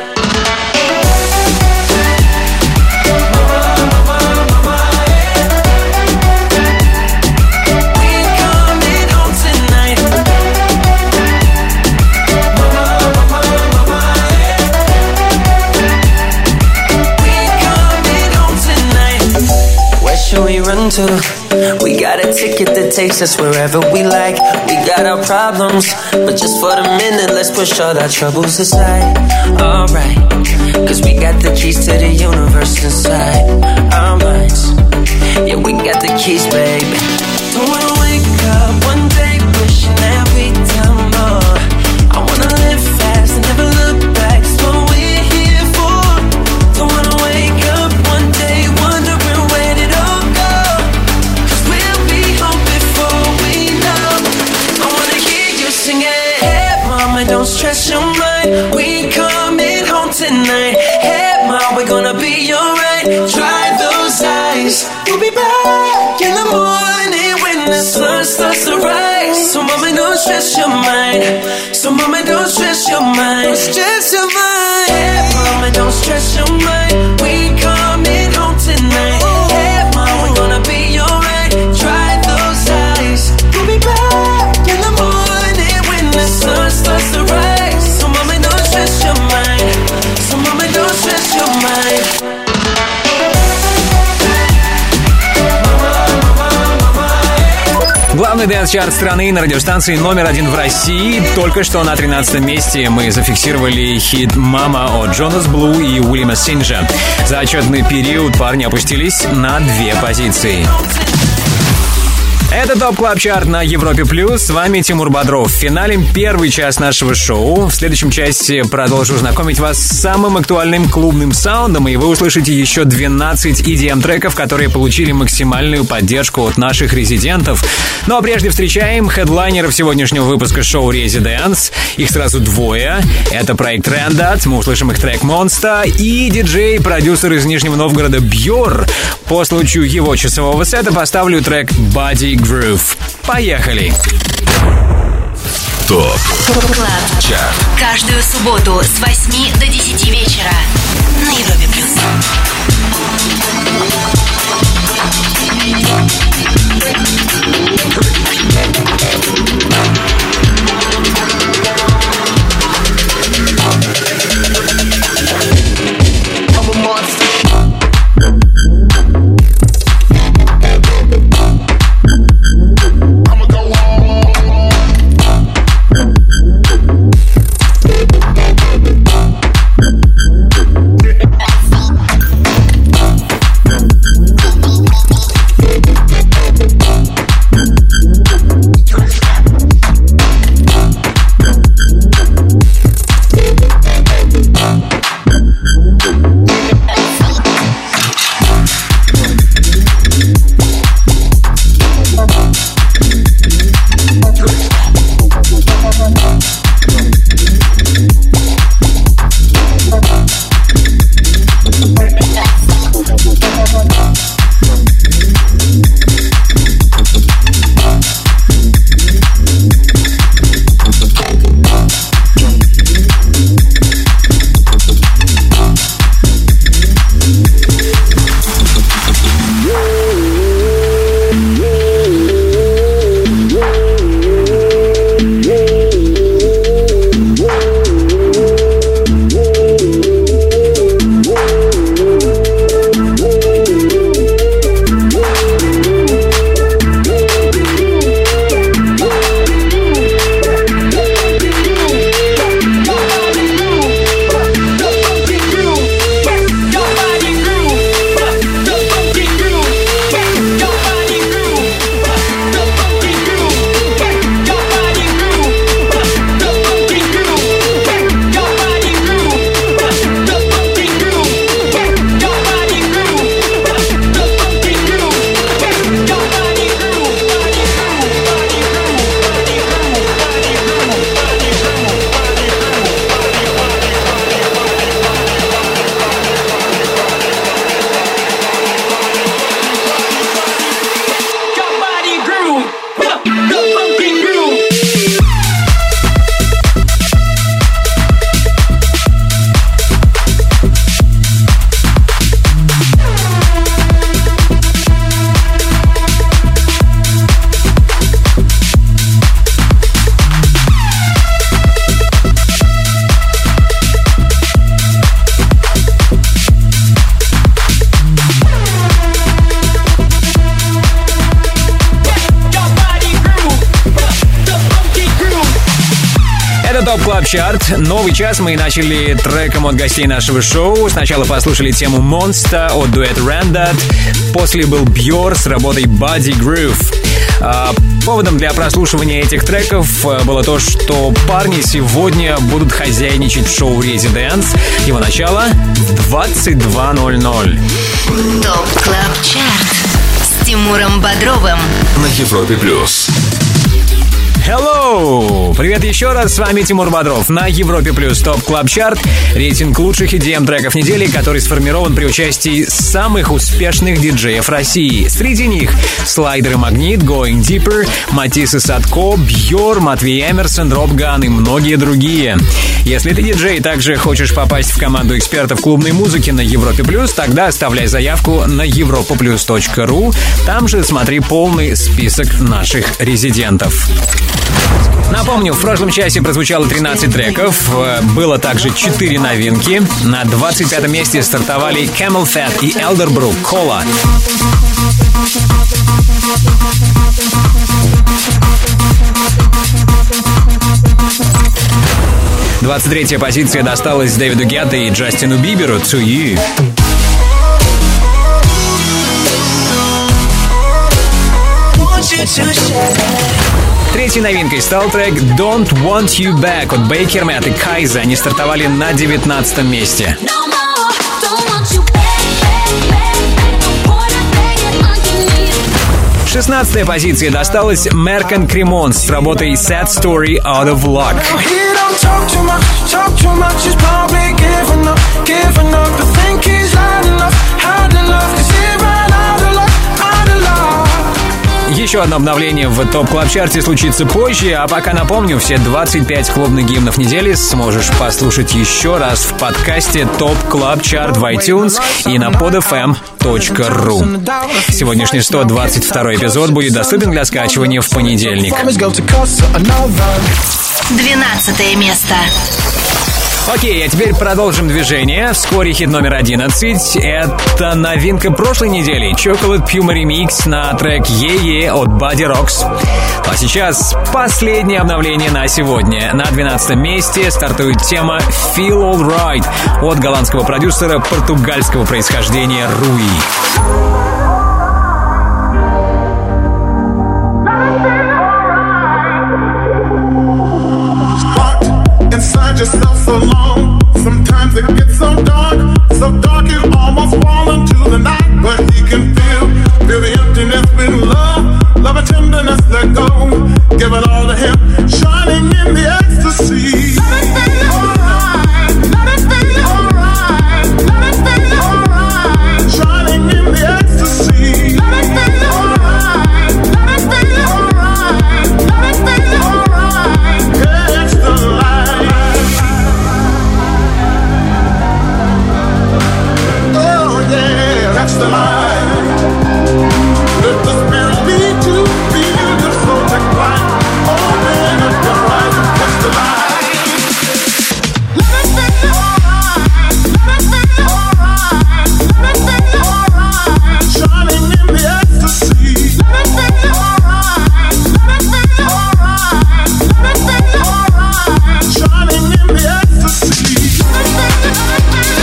Run to. We got a ticket that takes us wherever we like. We got our problems, but just for the minute, let's push all our troubles aside. Alright, cause we got the keys to the universe inside our minds. Yeah, we got the keys, baby. Don't wanna wake up one day wishing that we'd done more. I wanna live fast and never look back. It's what we're here for. Don't wanna wake up one day wondering where did all go. Cause we'll be home before we know. I wanna hear you singing. Hey mama, don't stress your mind. We coming home tonight. Hey mom, we're gonna be alright. Dry those eyes. We'll be back stress your mind. So mama, don't stress your mind. Don't stress your mind. Hey, mama, don't stress your mind. We coming home tonight. Hey, mama, we're gonna be alright. Dry those eyes. We'll be back in the morning when the sun starts to rise. So mama, don't stress your mind. So mama, don't stress your mind. Главный дэнс-чарт страны на радиостанции номер один в России. Только что на тринадцатом месте мы зафиксировали хит «Мама» от Джонас Блу и Уильяма Синджа. За отчетный период парни опустились на две позиции. Это ТОП Клаб Чарт на Европе Плюс. С вами Тимур Бодров. Финалем первый час нашего шоу. В следующем части продолжу знакомить вас с самым актуальным клубным саундом, и вы услышите еще двенадцать и ди эм-треков, которые получили максимальную поддержку от наших резидентов. Ну а прежде встречаем хедлайнеров сегодняшнего выпуска шоу «Резиденс». Их сразу двое. Это проект Randad, мы услышим их трек «Monster», и диджей-продюсер из Нижнего Новгорода Бьор. По случаю его часового сета поставлю трек «Body Groove». Поехали! ТОП Клаб Чарт. Каждую субботу с восьми до десяти вечера на Европе Плюс. ТОП Клаб Чарт. Новый час мы начали треком от гостей нашего шоу. Сначала послушали тему Monster от дуэта Randad. После был Бьор с работой Body Groove. А, поводом для прослушивания этих треков было то, что парни сегодня будут хозяйничать в шоу «Резиденс». Его начало в двадцать два ноль ноль. ТОП Клаб Чарт с Тимуром Бодровым на Европе Плюс. Hello! Привет еще раз, с вами Тимур Бодров на Европе Плюс Топ Клаб Чарт. Рейтинг лучших и ди эм треков недели, который сформирован при участии самых успешных диджеев России. Среди них Слайдер и Магнит, Going Deeper, Матис и Садко, Бьор, Матвей Эмерсон, Дроп Ган и многие другие. Если ты диджей и также хочешь попасть в команду экспертов клубной музыки на Европе Плюс, тогда оставляй заявку на европа плюс точка ру. Там же смотри полный список наших резидентов. Напомню, в прошлом часе прозвучало тринадцать треков, было также четыре новинки. На двадцать пятом месте стартовали Camel Fat и Elderbrook Cola. двадцать третья позиция досталась Дэвиду Гетто и Джастину Биберу «To You». Третьей новинкой стал трек «Don't Want You Back» от Бейкермет и Кайза. Они стартовали на девятнадцатом месте. шестнадцатая позиция досталась Меркан Кремон с работой «Sad Story Out of Luck». Еще одно обновление в ТОП Клаб Чарте случится позже, а пока напомню, все двадцать пять клубных гимнов недели сможешь послушать еще раз в подкасте ТОП Клаб Чарт в iTunes и на под эф эм точка ру. Сегодняшний сто двадцать второй эпизод будет доступен для скачивания в понедельник. двенадцатое место. Окей, а теперь продолжим движение. Вскоре хит номер одиннадцать. Это новинка прошлой недели. Chocolate Puma Remix на трек «Е-Е» от Body Rocks. А сейчас последнее обновление на сегодня. На двенадцатом месте стартует тема «Feel All Right» от голландского продюсера португальского происхождения Руи. Yourself so long, sometimes it gets so dark, so dark you almost fall into the night. But he can feel, feel the emptiness with love, love and tenderness let go. Give it all to him, shining in the ecstasy. Let it feel alright, let it feel alright, let it feel alright. Shining in the ecstasy. Let it feel alright, let it feel alright, let it feel alright. Catch the light. Catch the light. Let the spirit lead you. Feel your soul take flight. Open up your eyes and catch the light. Let it feel alright. Let it feel alright. Let it feel alright. Shining in the ecstasy. Let it feel alright. Let it feel alright. Let it feel alright. Shining in the ecstasy. Let it feel alright.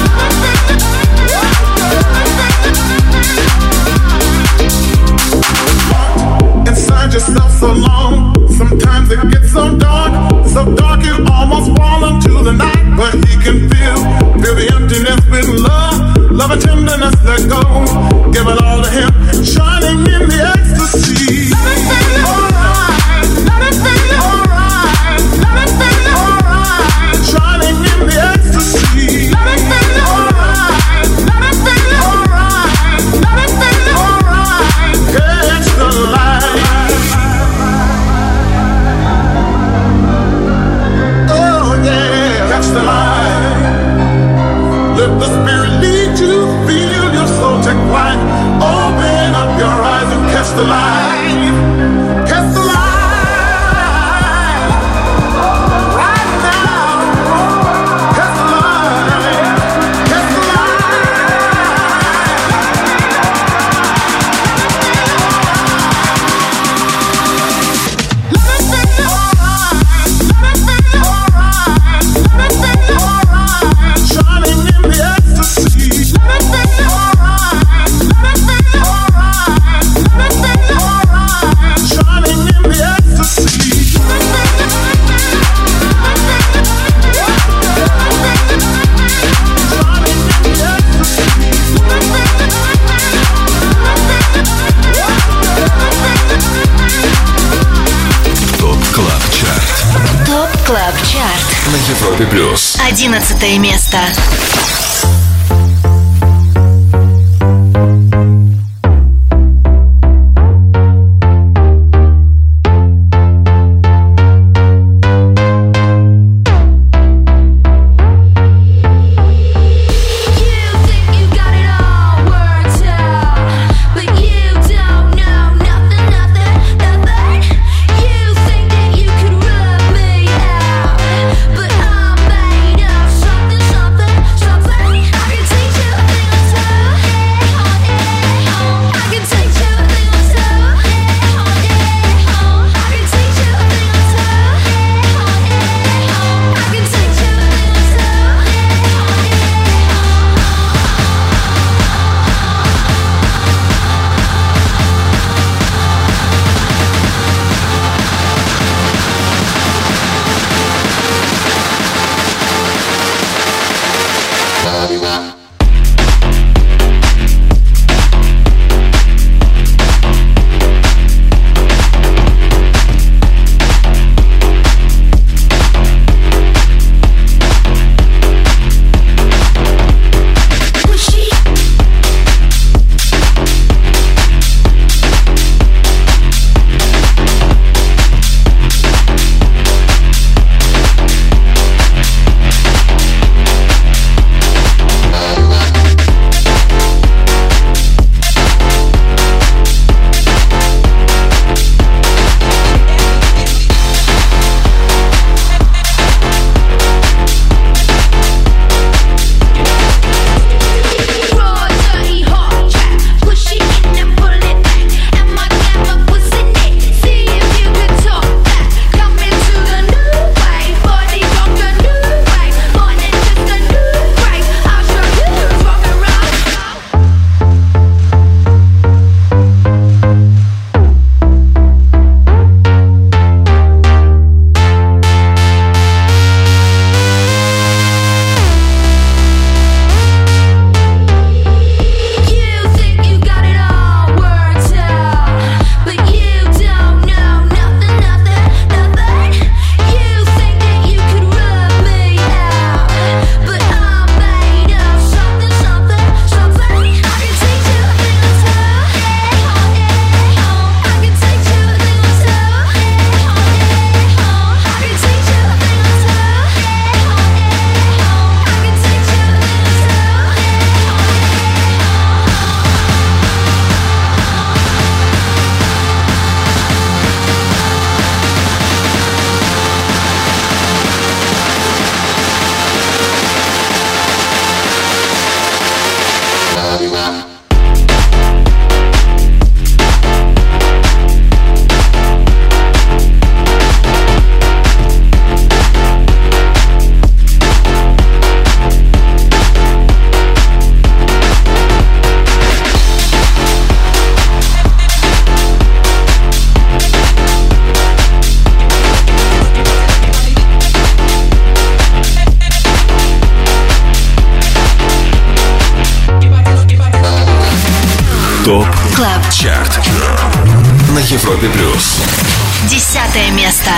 Inside yourself so long, sometimes it gets so dark, so dark you almost fall into the night. But he can feel, feel the emptiness with love, love and tenderness let go. Give it all to him, shining in the ecstasy. Let it feel alright, let it feel alright, let it feel alright. Shining in the ecstasy. Let it feel alright, let it feel alright, let it feel alright. Catch the light. The light. Let the spirit lead you. Feel your soul take flight. Open up your eyes and catch ТОП КЛАБ ЧАРТ на Европе плюс. Одиннадцатое место. ТОП КЛАБ ЧАРТ на Европе плюс. Десятое место.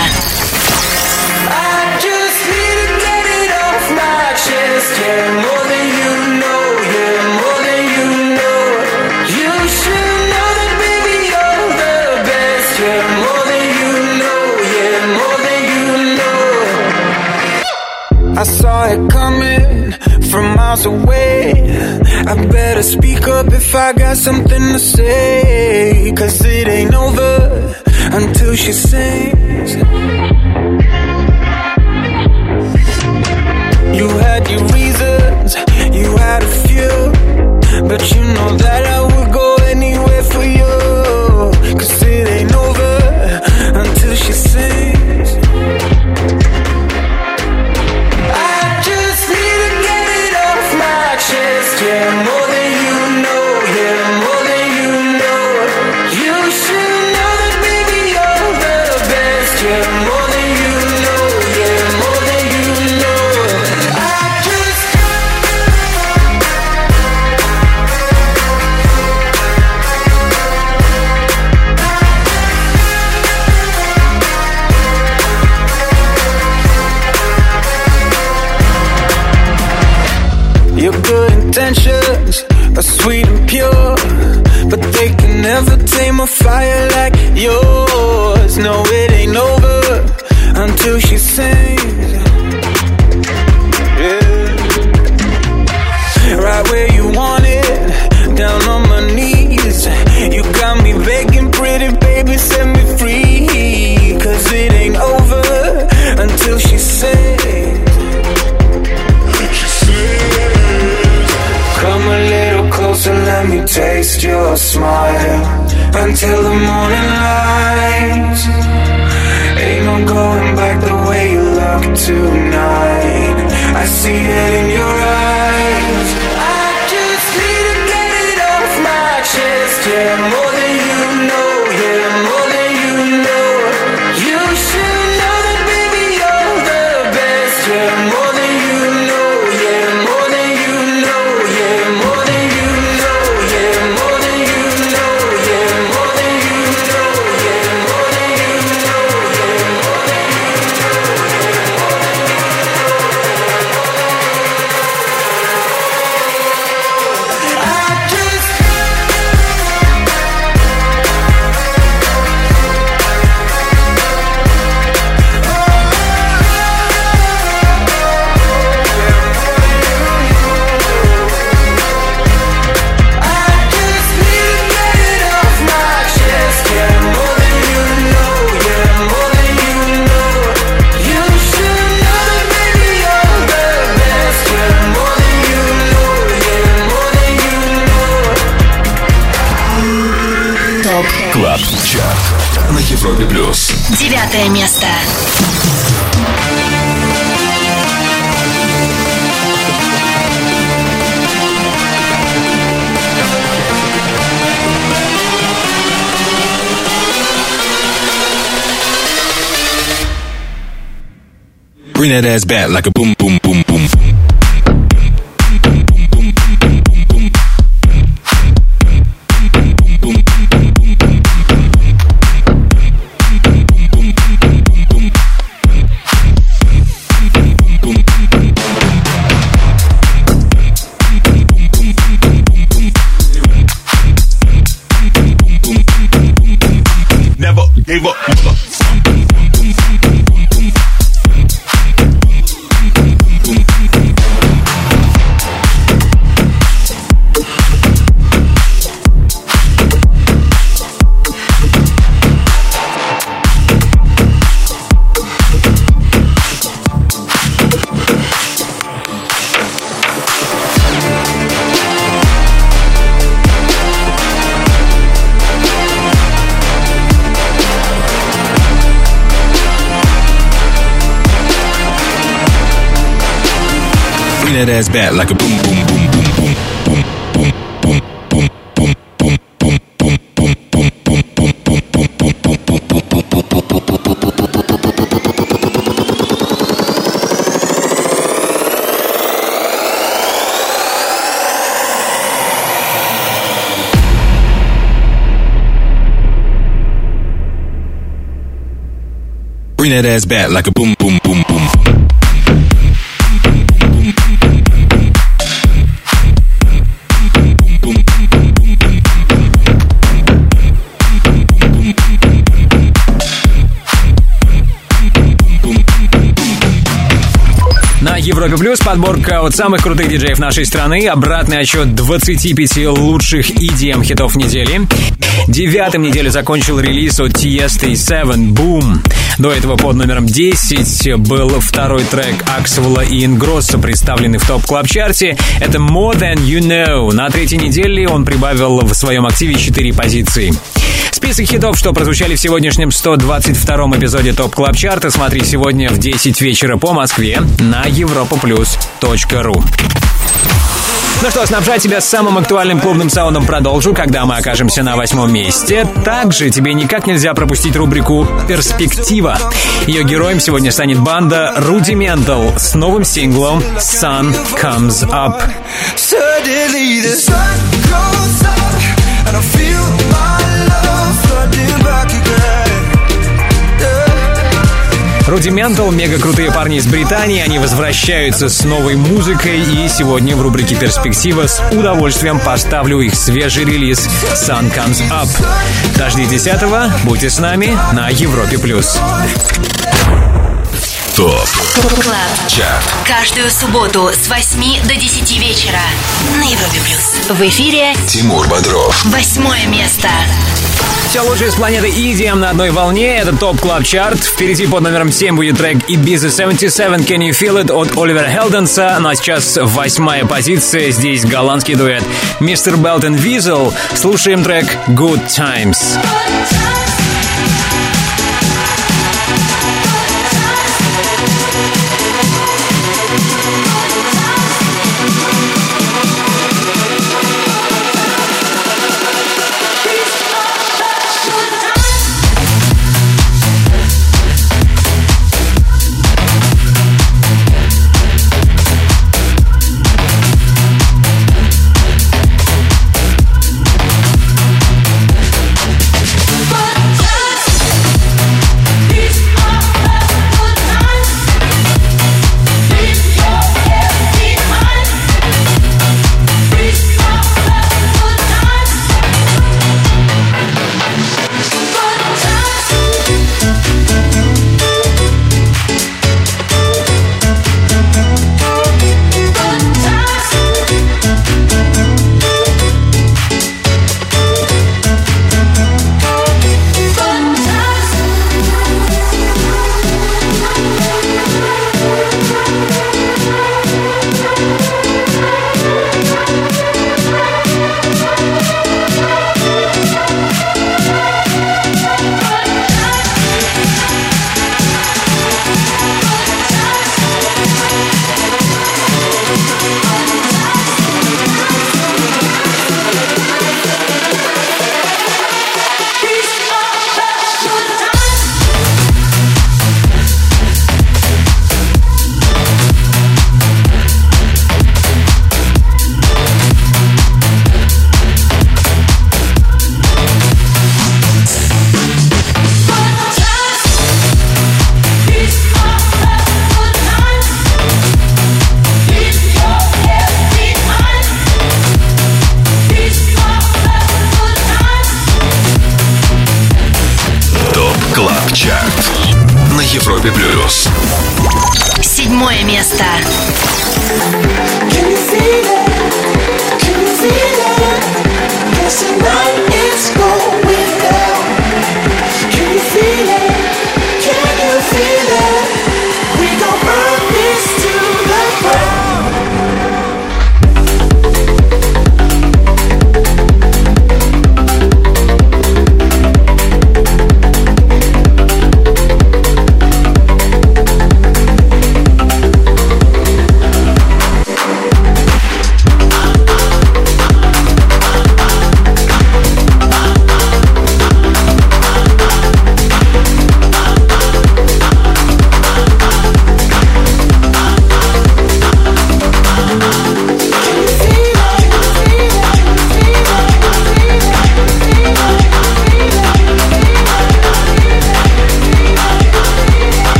I saw it coming from miles away. I better speak up if I got something to say. Cause it ain't over until she sings. You had your reasons, you had a few, but you know that I would go anywhere for you. Cause it ain't over until she sings. Yeah, more than you know, yeah, more than you know. You should know that, baby, you're the best. Yeah, more than you intentions are sweet and pure, but they can never tame a fire like yours. No, it ain't over until she sings. Yeah. Right where you want it, down on my knees. You got me begging, pretty baby, set me free. Cause it ain't over until she sings. Come a little closer, let me taste your smile. Until the morning light. Ain't no going back the way you look tonight. I see it in your eyes. I just need to get it off my chest. Yeah, more than you know. Yeah, more than you know. You should know that, baby, you're the best. Yeah, more than you know. Yeah, more than you know. Yeah, more than you know. Yeah, more than you know. Yeah, more than you know. Yeah, more than you know. Yeah, more than you know. I just Клаб Чарт на Европе плюс. Девятое место. Bring that ass back like a boom, boom, boom, boom. Never gave up. That ass back like a boom, boom, boom, boom, boom, boom, boom, boom, boom, boom, boom, boom, boom, boom, boom, boom, bring that ass back like a boom, boom, boom, boom. На Европе Плюс подборка от самых крутых диджеев нашей страны. Обратный отчет двадцати пяти лучших и ди эм-хитов недели. Девятым неделю закончил релиз от Tiesto и Seven Boom. До этого под номером десять был второй трек Аксвелла и Ингросса, представленный в топ-клаб-чарте. Это More Than You Know. На третьей неделе он прибавил в своем активе четыре позиции. Список хитов, что прозвучали в сегодняшнем сто двадцать втором эпизоде ТОП Клаб Чарта, смотри сегодня в десять вечера по Москве на европаплюс точка ру. Ну что, снабжать тебя самым актуальным клубным саундом продолжу, когда мы окажемся на восьмом месте. Также тебе никак нельзя пропустить рубрику «Перспектива». Ее героем сегодня станет банда Rudimental с новым синглом «Sun Comes Up». Suddenly the sun goes up and I feel my love flooding back again. Rudimental, мега крутые парни из Британии, они возвращаются с новой музыкой, и сегодня в рубрике «Перспектива» с удовольствием поставлю их свежий релиз «Sun Comes Up». Дождитесь этого, будьте с нами на Европе+. ТОП КЛАБ ЧАРТ. Каждую субботу с восьми до десяти вечера на Европе+. В эфире Тимур Бодров. Восьмое место. Все лучшее с планеты и ди эм на одной волне. Это ТОП КЛАБ ЧАРТ. Впереди под номером семь будет трек Ibiza семьдесят семь Can You Feel It от Оливера Хелденса. Ну а сейчас восьмая позиция. Здесь голландский дуэт мистер Белтон Визел. Слушаем трек Good Times. Европе плюс. Седьмое место.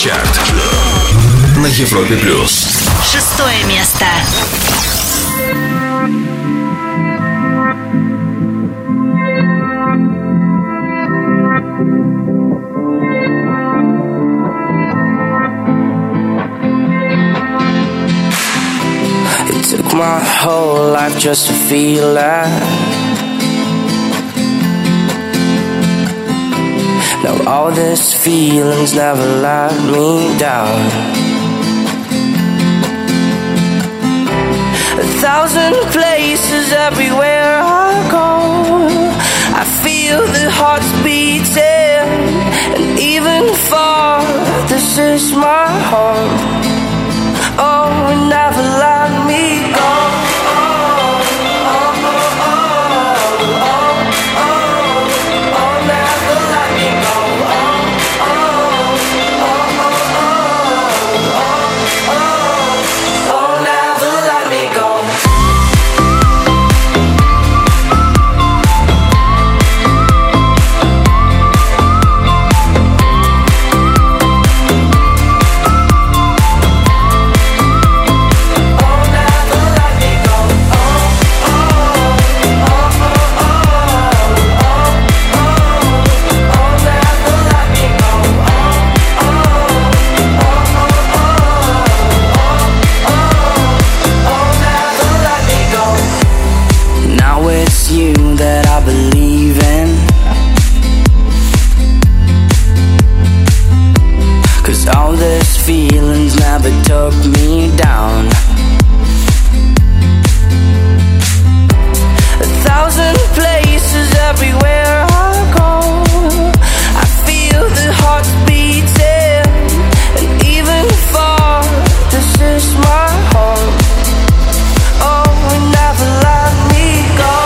Чарт на Европе плюс. Шестое место. Took my whole life just to feel that. Now all these feelings never let me down. A thousand places everywhere I go, I feel the hearts beating, and even far, this is my home. Oh, and never let me go. Feelings never took me down. A thousand places everywhere I go, I feel the hearts beating, and even far, this is my home. Oh, and never let me go.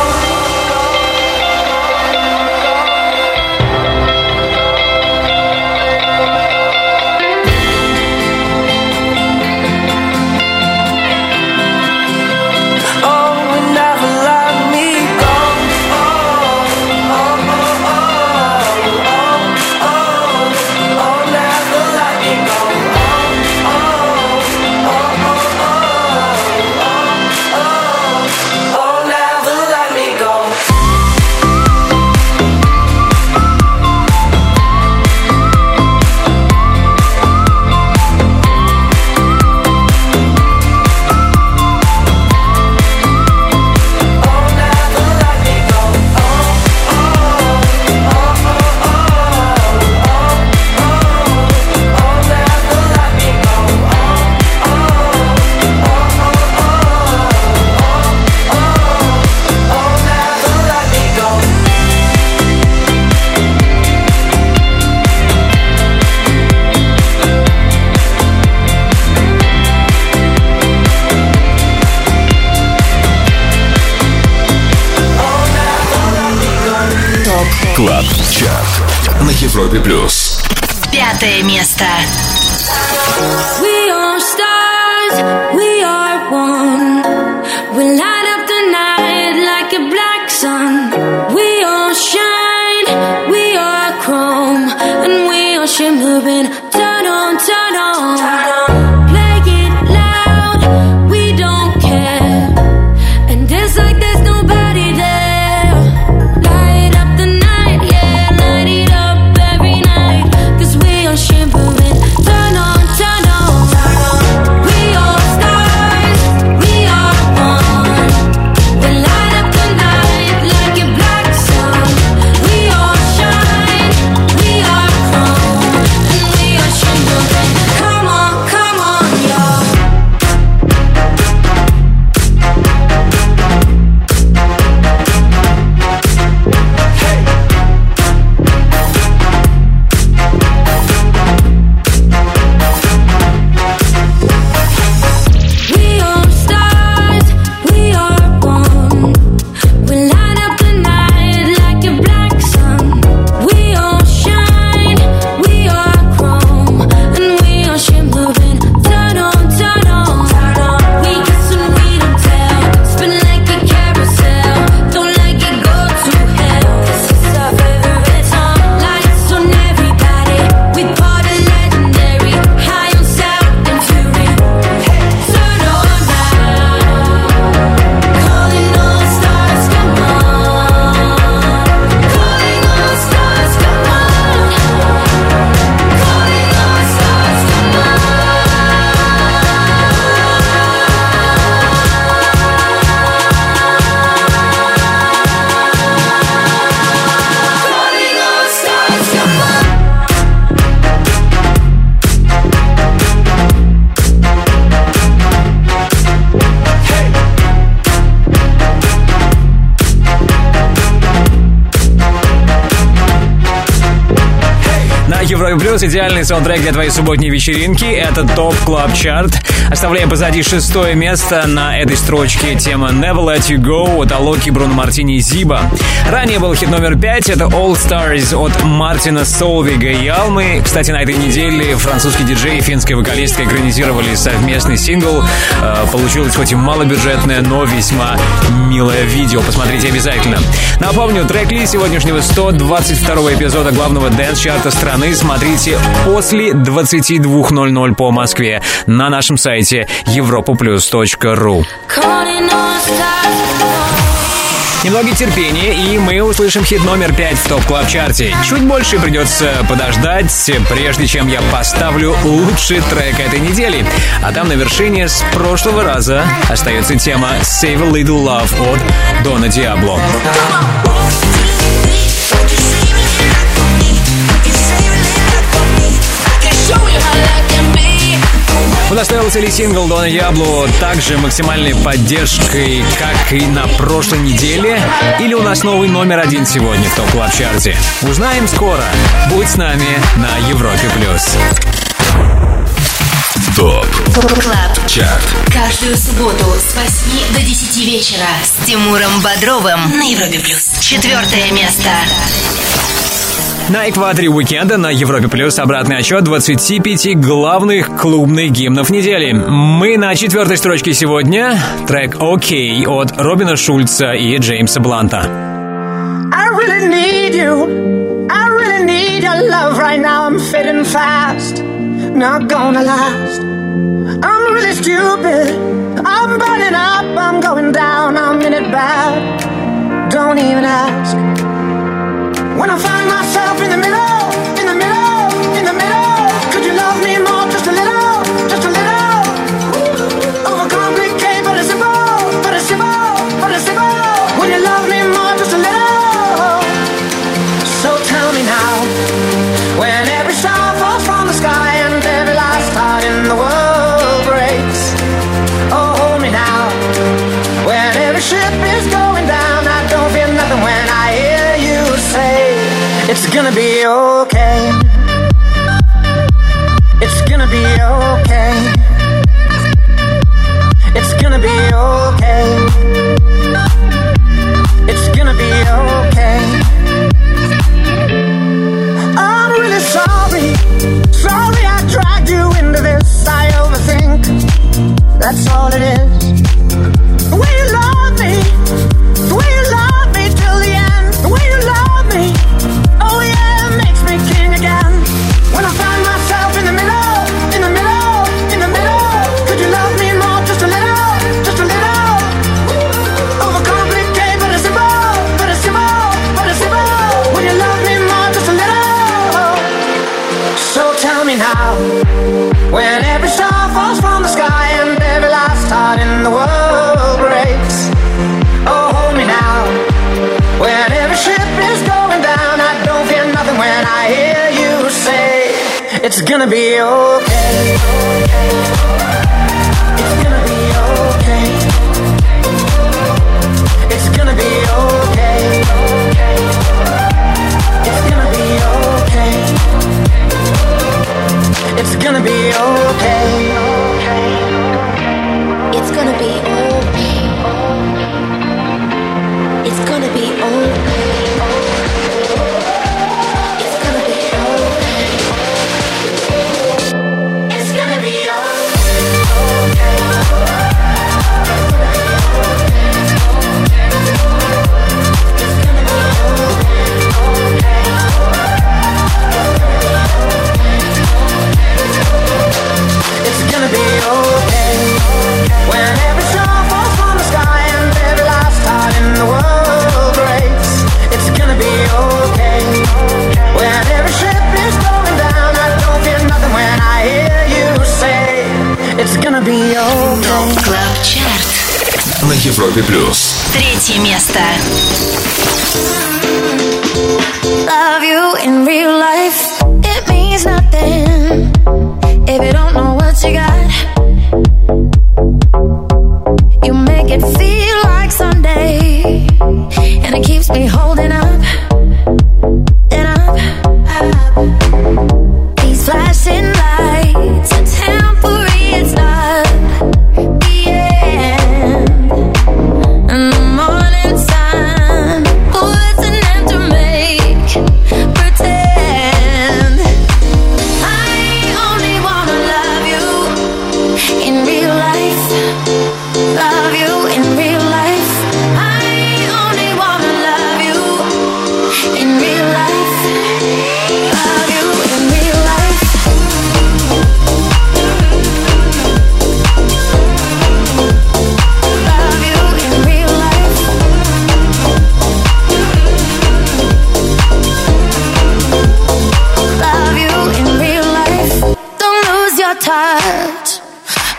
Клаб Чарт на Европе плюс. Пятое место. We are stars, we are one. We light up the night like a black sun. We all shine, we are chrome, and we are shimmering. Turn on, turn on. Play it loud, we don't care. And dance like there's nobody there. We Европе Плюс. Идеальный саундтрек для твоей субботней вечеринки. Это ТОП Клаб Чарт. Оставляем позади шестое место. На этой строчке тема Never Let You Go от Алоки, Бруно Мартини и Зиба. Ранее был хит номер пять. Это All Stars от Мартина Солвига и Алмы. Кстати, на этой неделе французский диджей и финская вокалистка экранизировали совместный сингл. Получилось хоть и малобюджетное, но весьма милое видео. Посмотрите обязательно. Напомню, трек-лист сегодняшнего сто двадцать второго эпизода главного дэнс-чарта страны смотрите после двадцати двух ноль-ноль по Москве на нашем сайте европа плюс точка ру. Немного терпения, и мы услышим хит номер пять в ТОП Клаб Чарте. Чуть больше придется подождать, прежде чем я поставлю лучший трек этой недели. А там на вершине с прошлого раза остается тема Save a Little Love от Дона Диабло. Удостоился ли сингл Дона Диабло также максимальной поддержкой, как и на прошлой неделе? Или у нас новый номер один сегодня в ТОП Клаб Чарте? Узнаем скоро. Будь с нами на Европе Плюс. ТОП Клаб Чарт. Каждую субботу с восьми до десяти вечера с Тимуром Бодровым на Европе Плюс. Четвертое место. На экваторе уикенда на Европе Плюс обратный отчет двадцати пяти главных клубных гимнов недели. Мы на четвертой строчке сегодня. Трек «Окей» от Робина Шульца и Джеймса Бланта. I really need you. I really need your love right now. I'm fading fast. Not gonna last. I'm really stupid. I'm burning up. I'm going down. I'm in it bad. Don't even ask. When I find myself in the middle, in the middle, in the middle, could you love me more, just a little, just a little? Overcomplicate, but it's simple, but it's simple, but it's simple. When you love me more, just a little. So tell me now, when every star falls from the sky and every last heart in the world breaks. Oh, hold me now, when every ship is going down, I don't feel nothing when I hear you say it's gonna be okay. It's gonna be okay. It's gonna be okay. It's gonna be okay. I'm really sorry. Sorry I dragged you into this. I overthink. That's all it is. The way you love me. The way you love me till the end. The way you love me. Oh yeah, it makes me king again. When I find myself in the middle, in the middle, in the middle, could you love me more, just a little, just a little? Overcomplicate, but it's simple, but it's simple, but it's simple. When you love me more, just a little. So tell me now, when every star falls from the sky and every last heart in the world breaks. Oh, hold me now, when every ship is going down, I don't feel nothing when I hear you say it's gonna be okay. It's gonna be okay. It's gonna be okay. It's gonna be okay. It's gonna be okay. It's gonna be okay. It's gonna be okay. It's gonna be okay. It's gonna be okay. It's gonna be okay. When every star falls from the sky and every last heart in the world breaks. It's gonna be okay. When every ship is going down, I don't feel nothing when I hear you say it's gonna be okay. ТОП Клаб Чарт на Европе Плюс. Третье место. Love you in real life, it means nothing if you don't know what you got. You make it feel like Sunday, and it keeps me holding up and up, up.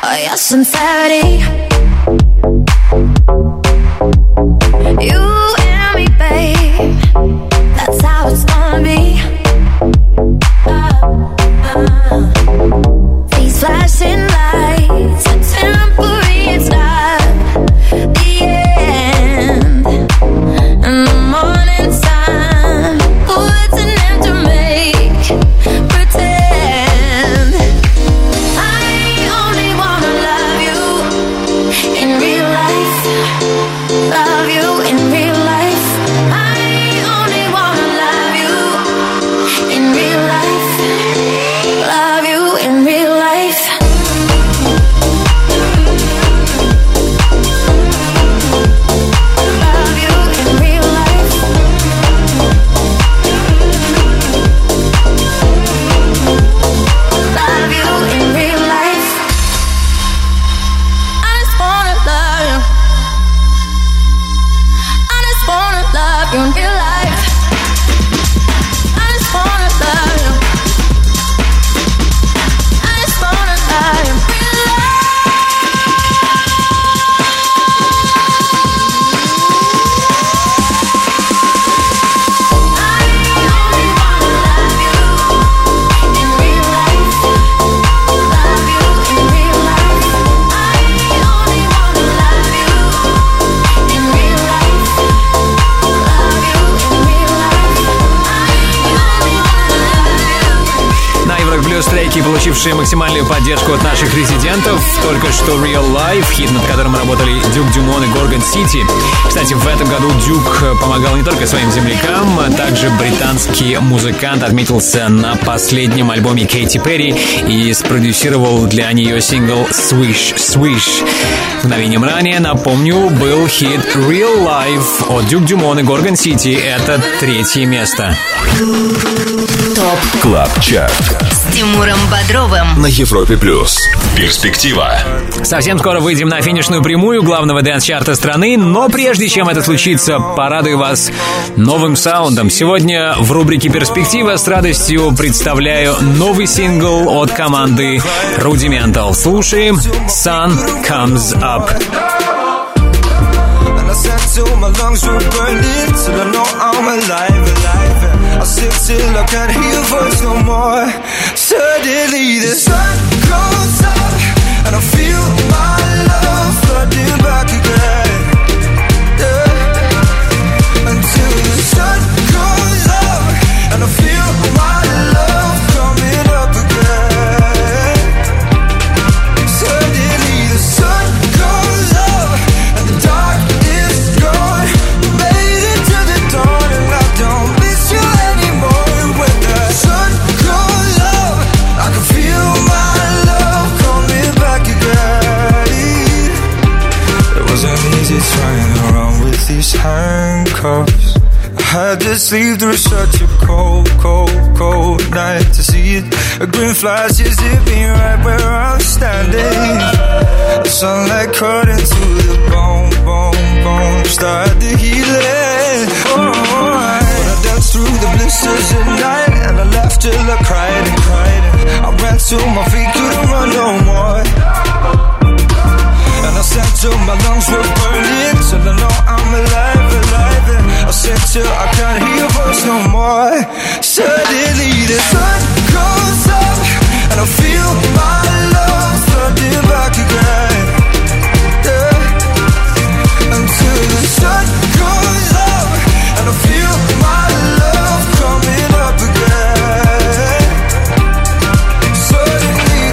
Oh, your sincerity. You and me, babe. That's how it's gonna be. Uh, uh. These flashing lights are temporary, it's not the end. In the morning sun puts an end to make pretend. I only wanna love you in real life. Love you in real life. I only wanna love you in real life. Love you in real life. Love you in real life. Love you in real life. I just wanna love you. I just wanna love you in real life. I just wanna love you. I just wanna love you in real На Европе Плюс треки, получившие максимальную поддержку от наших резидентов. Только что Real Life, хит, над которым работали Дюк Дюмон и Горгон Сити. Кстати, в этом году Дюк помогал не только своим землякам, а также британский музыкант отметился на последнем альбоме Кейти Перри и спродюсировал для нее сингл Swish Swish. Мгновением ранее, напомню, был хит Real Life от Дюк Дюмон и Горгон Сити. Это третье место. ТОП КЛАБ ЧАРТ С Тимуром Бодровым на Европе Плюс. Перспектива. Совсем скоро выйдем на финишную прямую главного дэнс-чарта страны, но прежде чем это случится, порадую вас новым саундом. Сегодня в рубрике «Перспектива» с радостью представляю новый сингл от команды Rudimental. Слушаем «Sun Comes Up». I said till my lungs were burning, till I know I'm alive, alive. I sip till I can't hear your voice no more. Suddenly the sun goes up, and I feel my love flooding back again. Yeah. Until the sun goes up, and I feel my love coming up again. Suddenly the sun goes up, and the dark trying around with these handcuffs. I had to sleep through such a cold, cold, cold night to see it. A green flash is zipping right where I'm standing. The sunlight cut into the bone, bone, bone. Start the healing. Oh, I, I danced through the blisters at night, and I laughed till I cried and cried. I ran till my feet couldn't run no more. And I said till my lungs were burning, till I know I'm alive, alive. And I said till I can't hear your voice no more. Suddenly the sun goes up, and I feel my love flooding back again. Yeah. Until the sun goes up, and I feel my love coming up again. Suddenly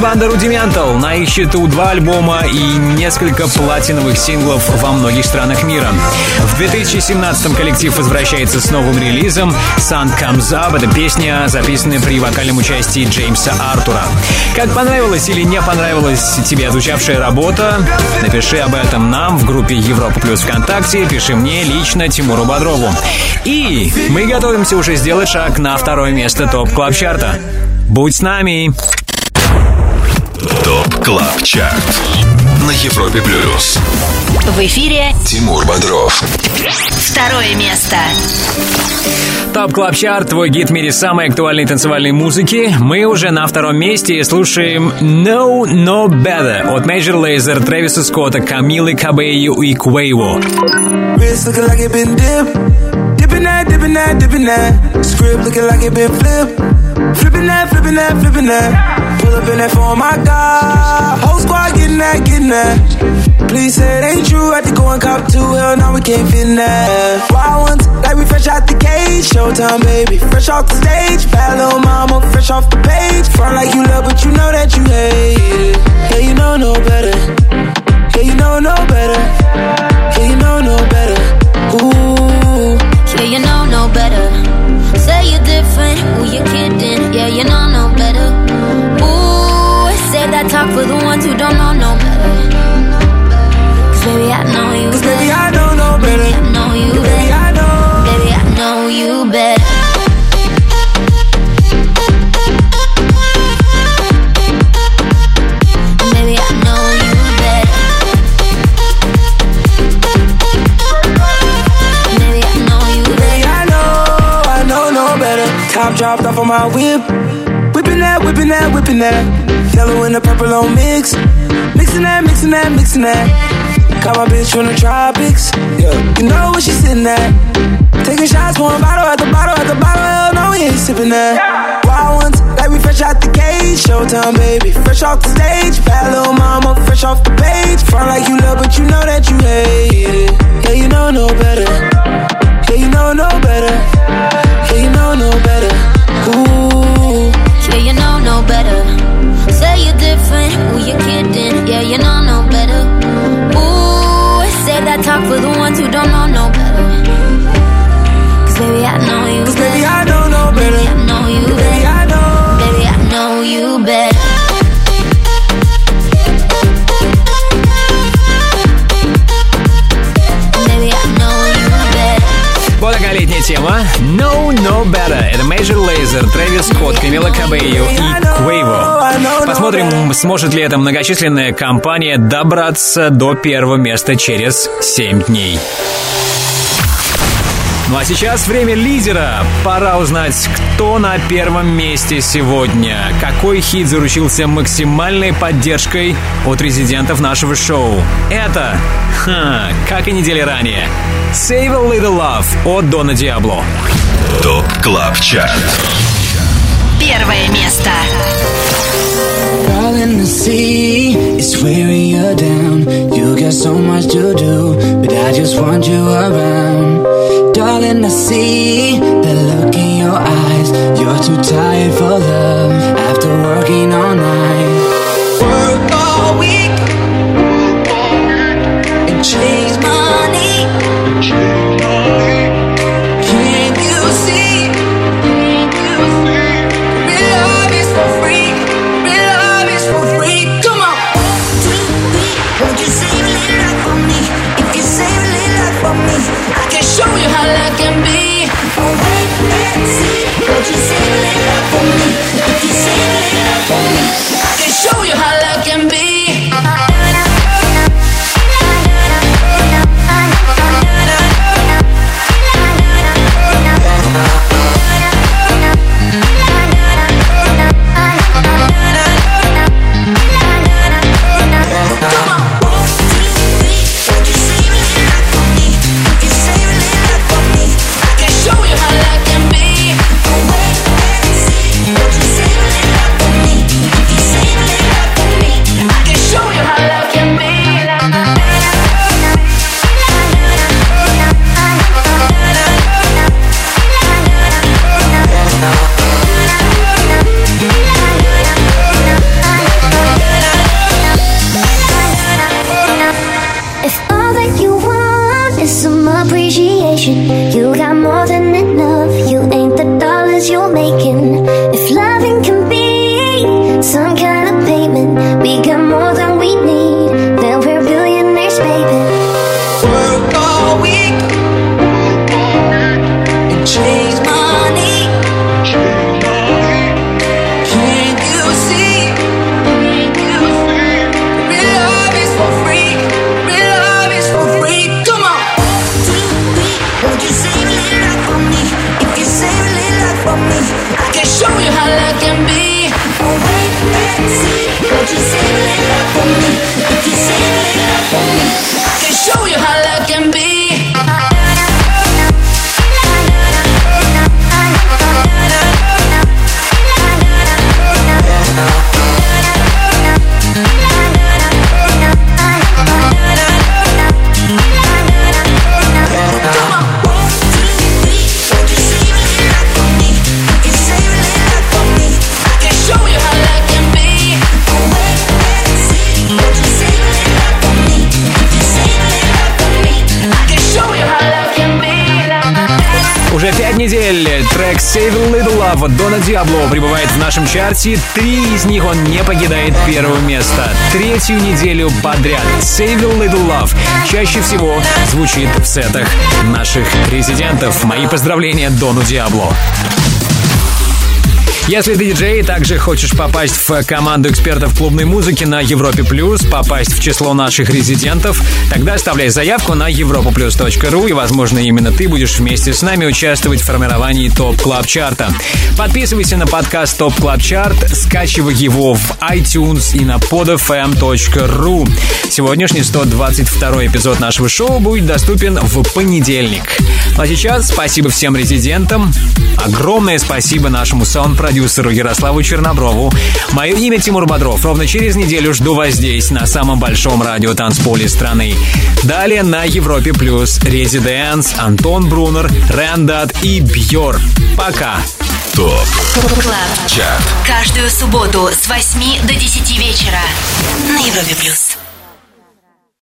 банда Rudimental. На их счету два альбома и несколько платиновых синглов во многих странах мира. В две тысячи семнадцатом коллектив возвращается с новым релизом «Sun Comes Up». Это песня, записанная при вокальном участии Джеймса Артура. Как понравилась или не понравилась тебе звучавшая работа? Напиши об этом нам в группе Европа Плюс ВКонтакте. Пиши мне лично, Тимуру Бодрову. И мы готовимся уже сделать шаг на второе место ТОП Клаб Чарта. Будь с нами! ТОП Клаб Чарт на Европе Плюс. В эфире Тимур Бодров. Второе место. ТОП Клаб Чарт, твой гид в мире самой актуальной танцевальной музыки. Мы уже на втором месте и слушаем No No Better от Major Lazer, Трэвиса Скотта, Камилы Кабею и Quavo. Dipping that, dipping that, dipping that. Script looking like it been flipped. Flipping that, flipping that, flipping that. Pull up in that for my God. Whole squad getting that, getting that. Please say it ain't true. Had to go and cop two. Hell, now we can't fit in that. Wild ones, like we fresh out the cage. Showtime, baby. Fresh off the stage. Bad little mama, fresh off the page. Front like you love, but you know that you hate it. Yeah, you know no better. Yeah, you know no better. Yeah, you know no better. Ooh. Yeah, you know no better. Say you're different, who you kidding? Yeah, you know no better. Ooh, say that talk for the ones who don't know no better. Cause baby, I know you Cause better. baby, I don't know better. Baby, I know you baby, better. I know. Baby, I know you better. Baby, I know you better. Baby, I know you better. Baby, I know, I know no better. Top dropped off on my whip. Whipping that, whipping that, whipping that. Yellow and the purple on mix. Mixing that, mixing that, mixing that. Got my bitch from the tropics. Yeah, you know where she sitting at. Taking shots, pouring bottle at the bottle at the bottle. Hell no, we ain't sipping that. Wild ones, like we fresh out the cage. Showtime, baby, fresh off the stage. Bad little mama, fresh off the page. Front like you love, but you know that you hate it. Yeah, you know no better. Yeah, you know no better. Yeah, you know no better. Ooh. Yeah, you know no better. Say you're different, who you kidding? Yeah, you know no better. Ooh, say that talk for the ones who don't know no better. Cause baby, I know you Cause better. baby, I don't know better. Baby, I know you Baby, better. I know. Baby, I know you better. Baby, I know you better. Вот такая летняя тема. No No Better. Это Major Lazer, Трэвис Скотт, Камила Кабею и Quavo. Посмотрим, сможет ли эта многочисленная компания добраться до первого места через семь дней. Ну а сейчас время лидера. Пора узнать, кто на первом месте сегодня. Какой хит заручился максимальной поддержкой от резидентов нашего шоу. Это, ха, как и недели ранее, Save a Little Love от Дона Диабло. ТОП Клаб Чарт. Первое место. Darling, the sea is wearing you down. You got so much to do, but I just want you around. Darling, I see the look in your eyes. You're too tired for love after working all night. Work all week and chase money. Can't you see? Real love is for free. Real love is for free. Come on. One, two, three. Won't you save a little life for me? If you save a little life for me, I can show you how love can be. Oh, wait and see. Won't you save a little life for me? If you save a little life for me, I can show you want is some appreciation. You got more than enough. You ain't the dollars you're making. If loving can be some kind of payment, we got more than we need. Then we're billionaires, baby. Work all week and chase money. Can't you see? Real love is for free. Real love is for free. Come on. Won't you save a little life for me? If you save a little life for me, I can show you how love can be. Oh wait, wait, see. Won't you save a little life for me? If you save a little life for me, I can show you how love can be. Уже пять недель трек Save a Little Love от Дона Диабло прибывает в нашем чарте. Три из них он не покидает первое место. Третью неделю подряд Save a Little Love чаще всего звучит в сетах наших резидентов. Мои поздравления Дону Диабло. Если ты диджей и также хочешь попасть в команду экспертов клубной музыки на Европе Плюс, попасть в число наших резидентов, тогда оставляй заявку на европа плюс точка ру, и, возможно, именно ты будешь вместе с нами участвовать в формировании ТОП Клаб Чарта. Подписывайся на подкаст ТОП Клаб Чарт, скачивай его в iTunes и на под эф эм точка ру. Сегодняшний сто двадцать второй эпизод нашего шоу будет доступен в понедельник. Ну а сейчас спасибо всем резидентам. Огромное спасибо нашему саунд-продюсеру Ярославу Черноброву. Мое имя Тимур Бодров. Ровно через неделю жду вас здесь, на самом большом радиотанцполе страны. Далее на Европе Плюс Резиденс, Антон Брунер, Рэндат и Бьор. Пока. ТОП Клаб. Чарт. Каждую субботу с восьми до десяти вечера на Европе Плюс.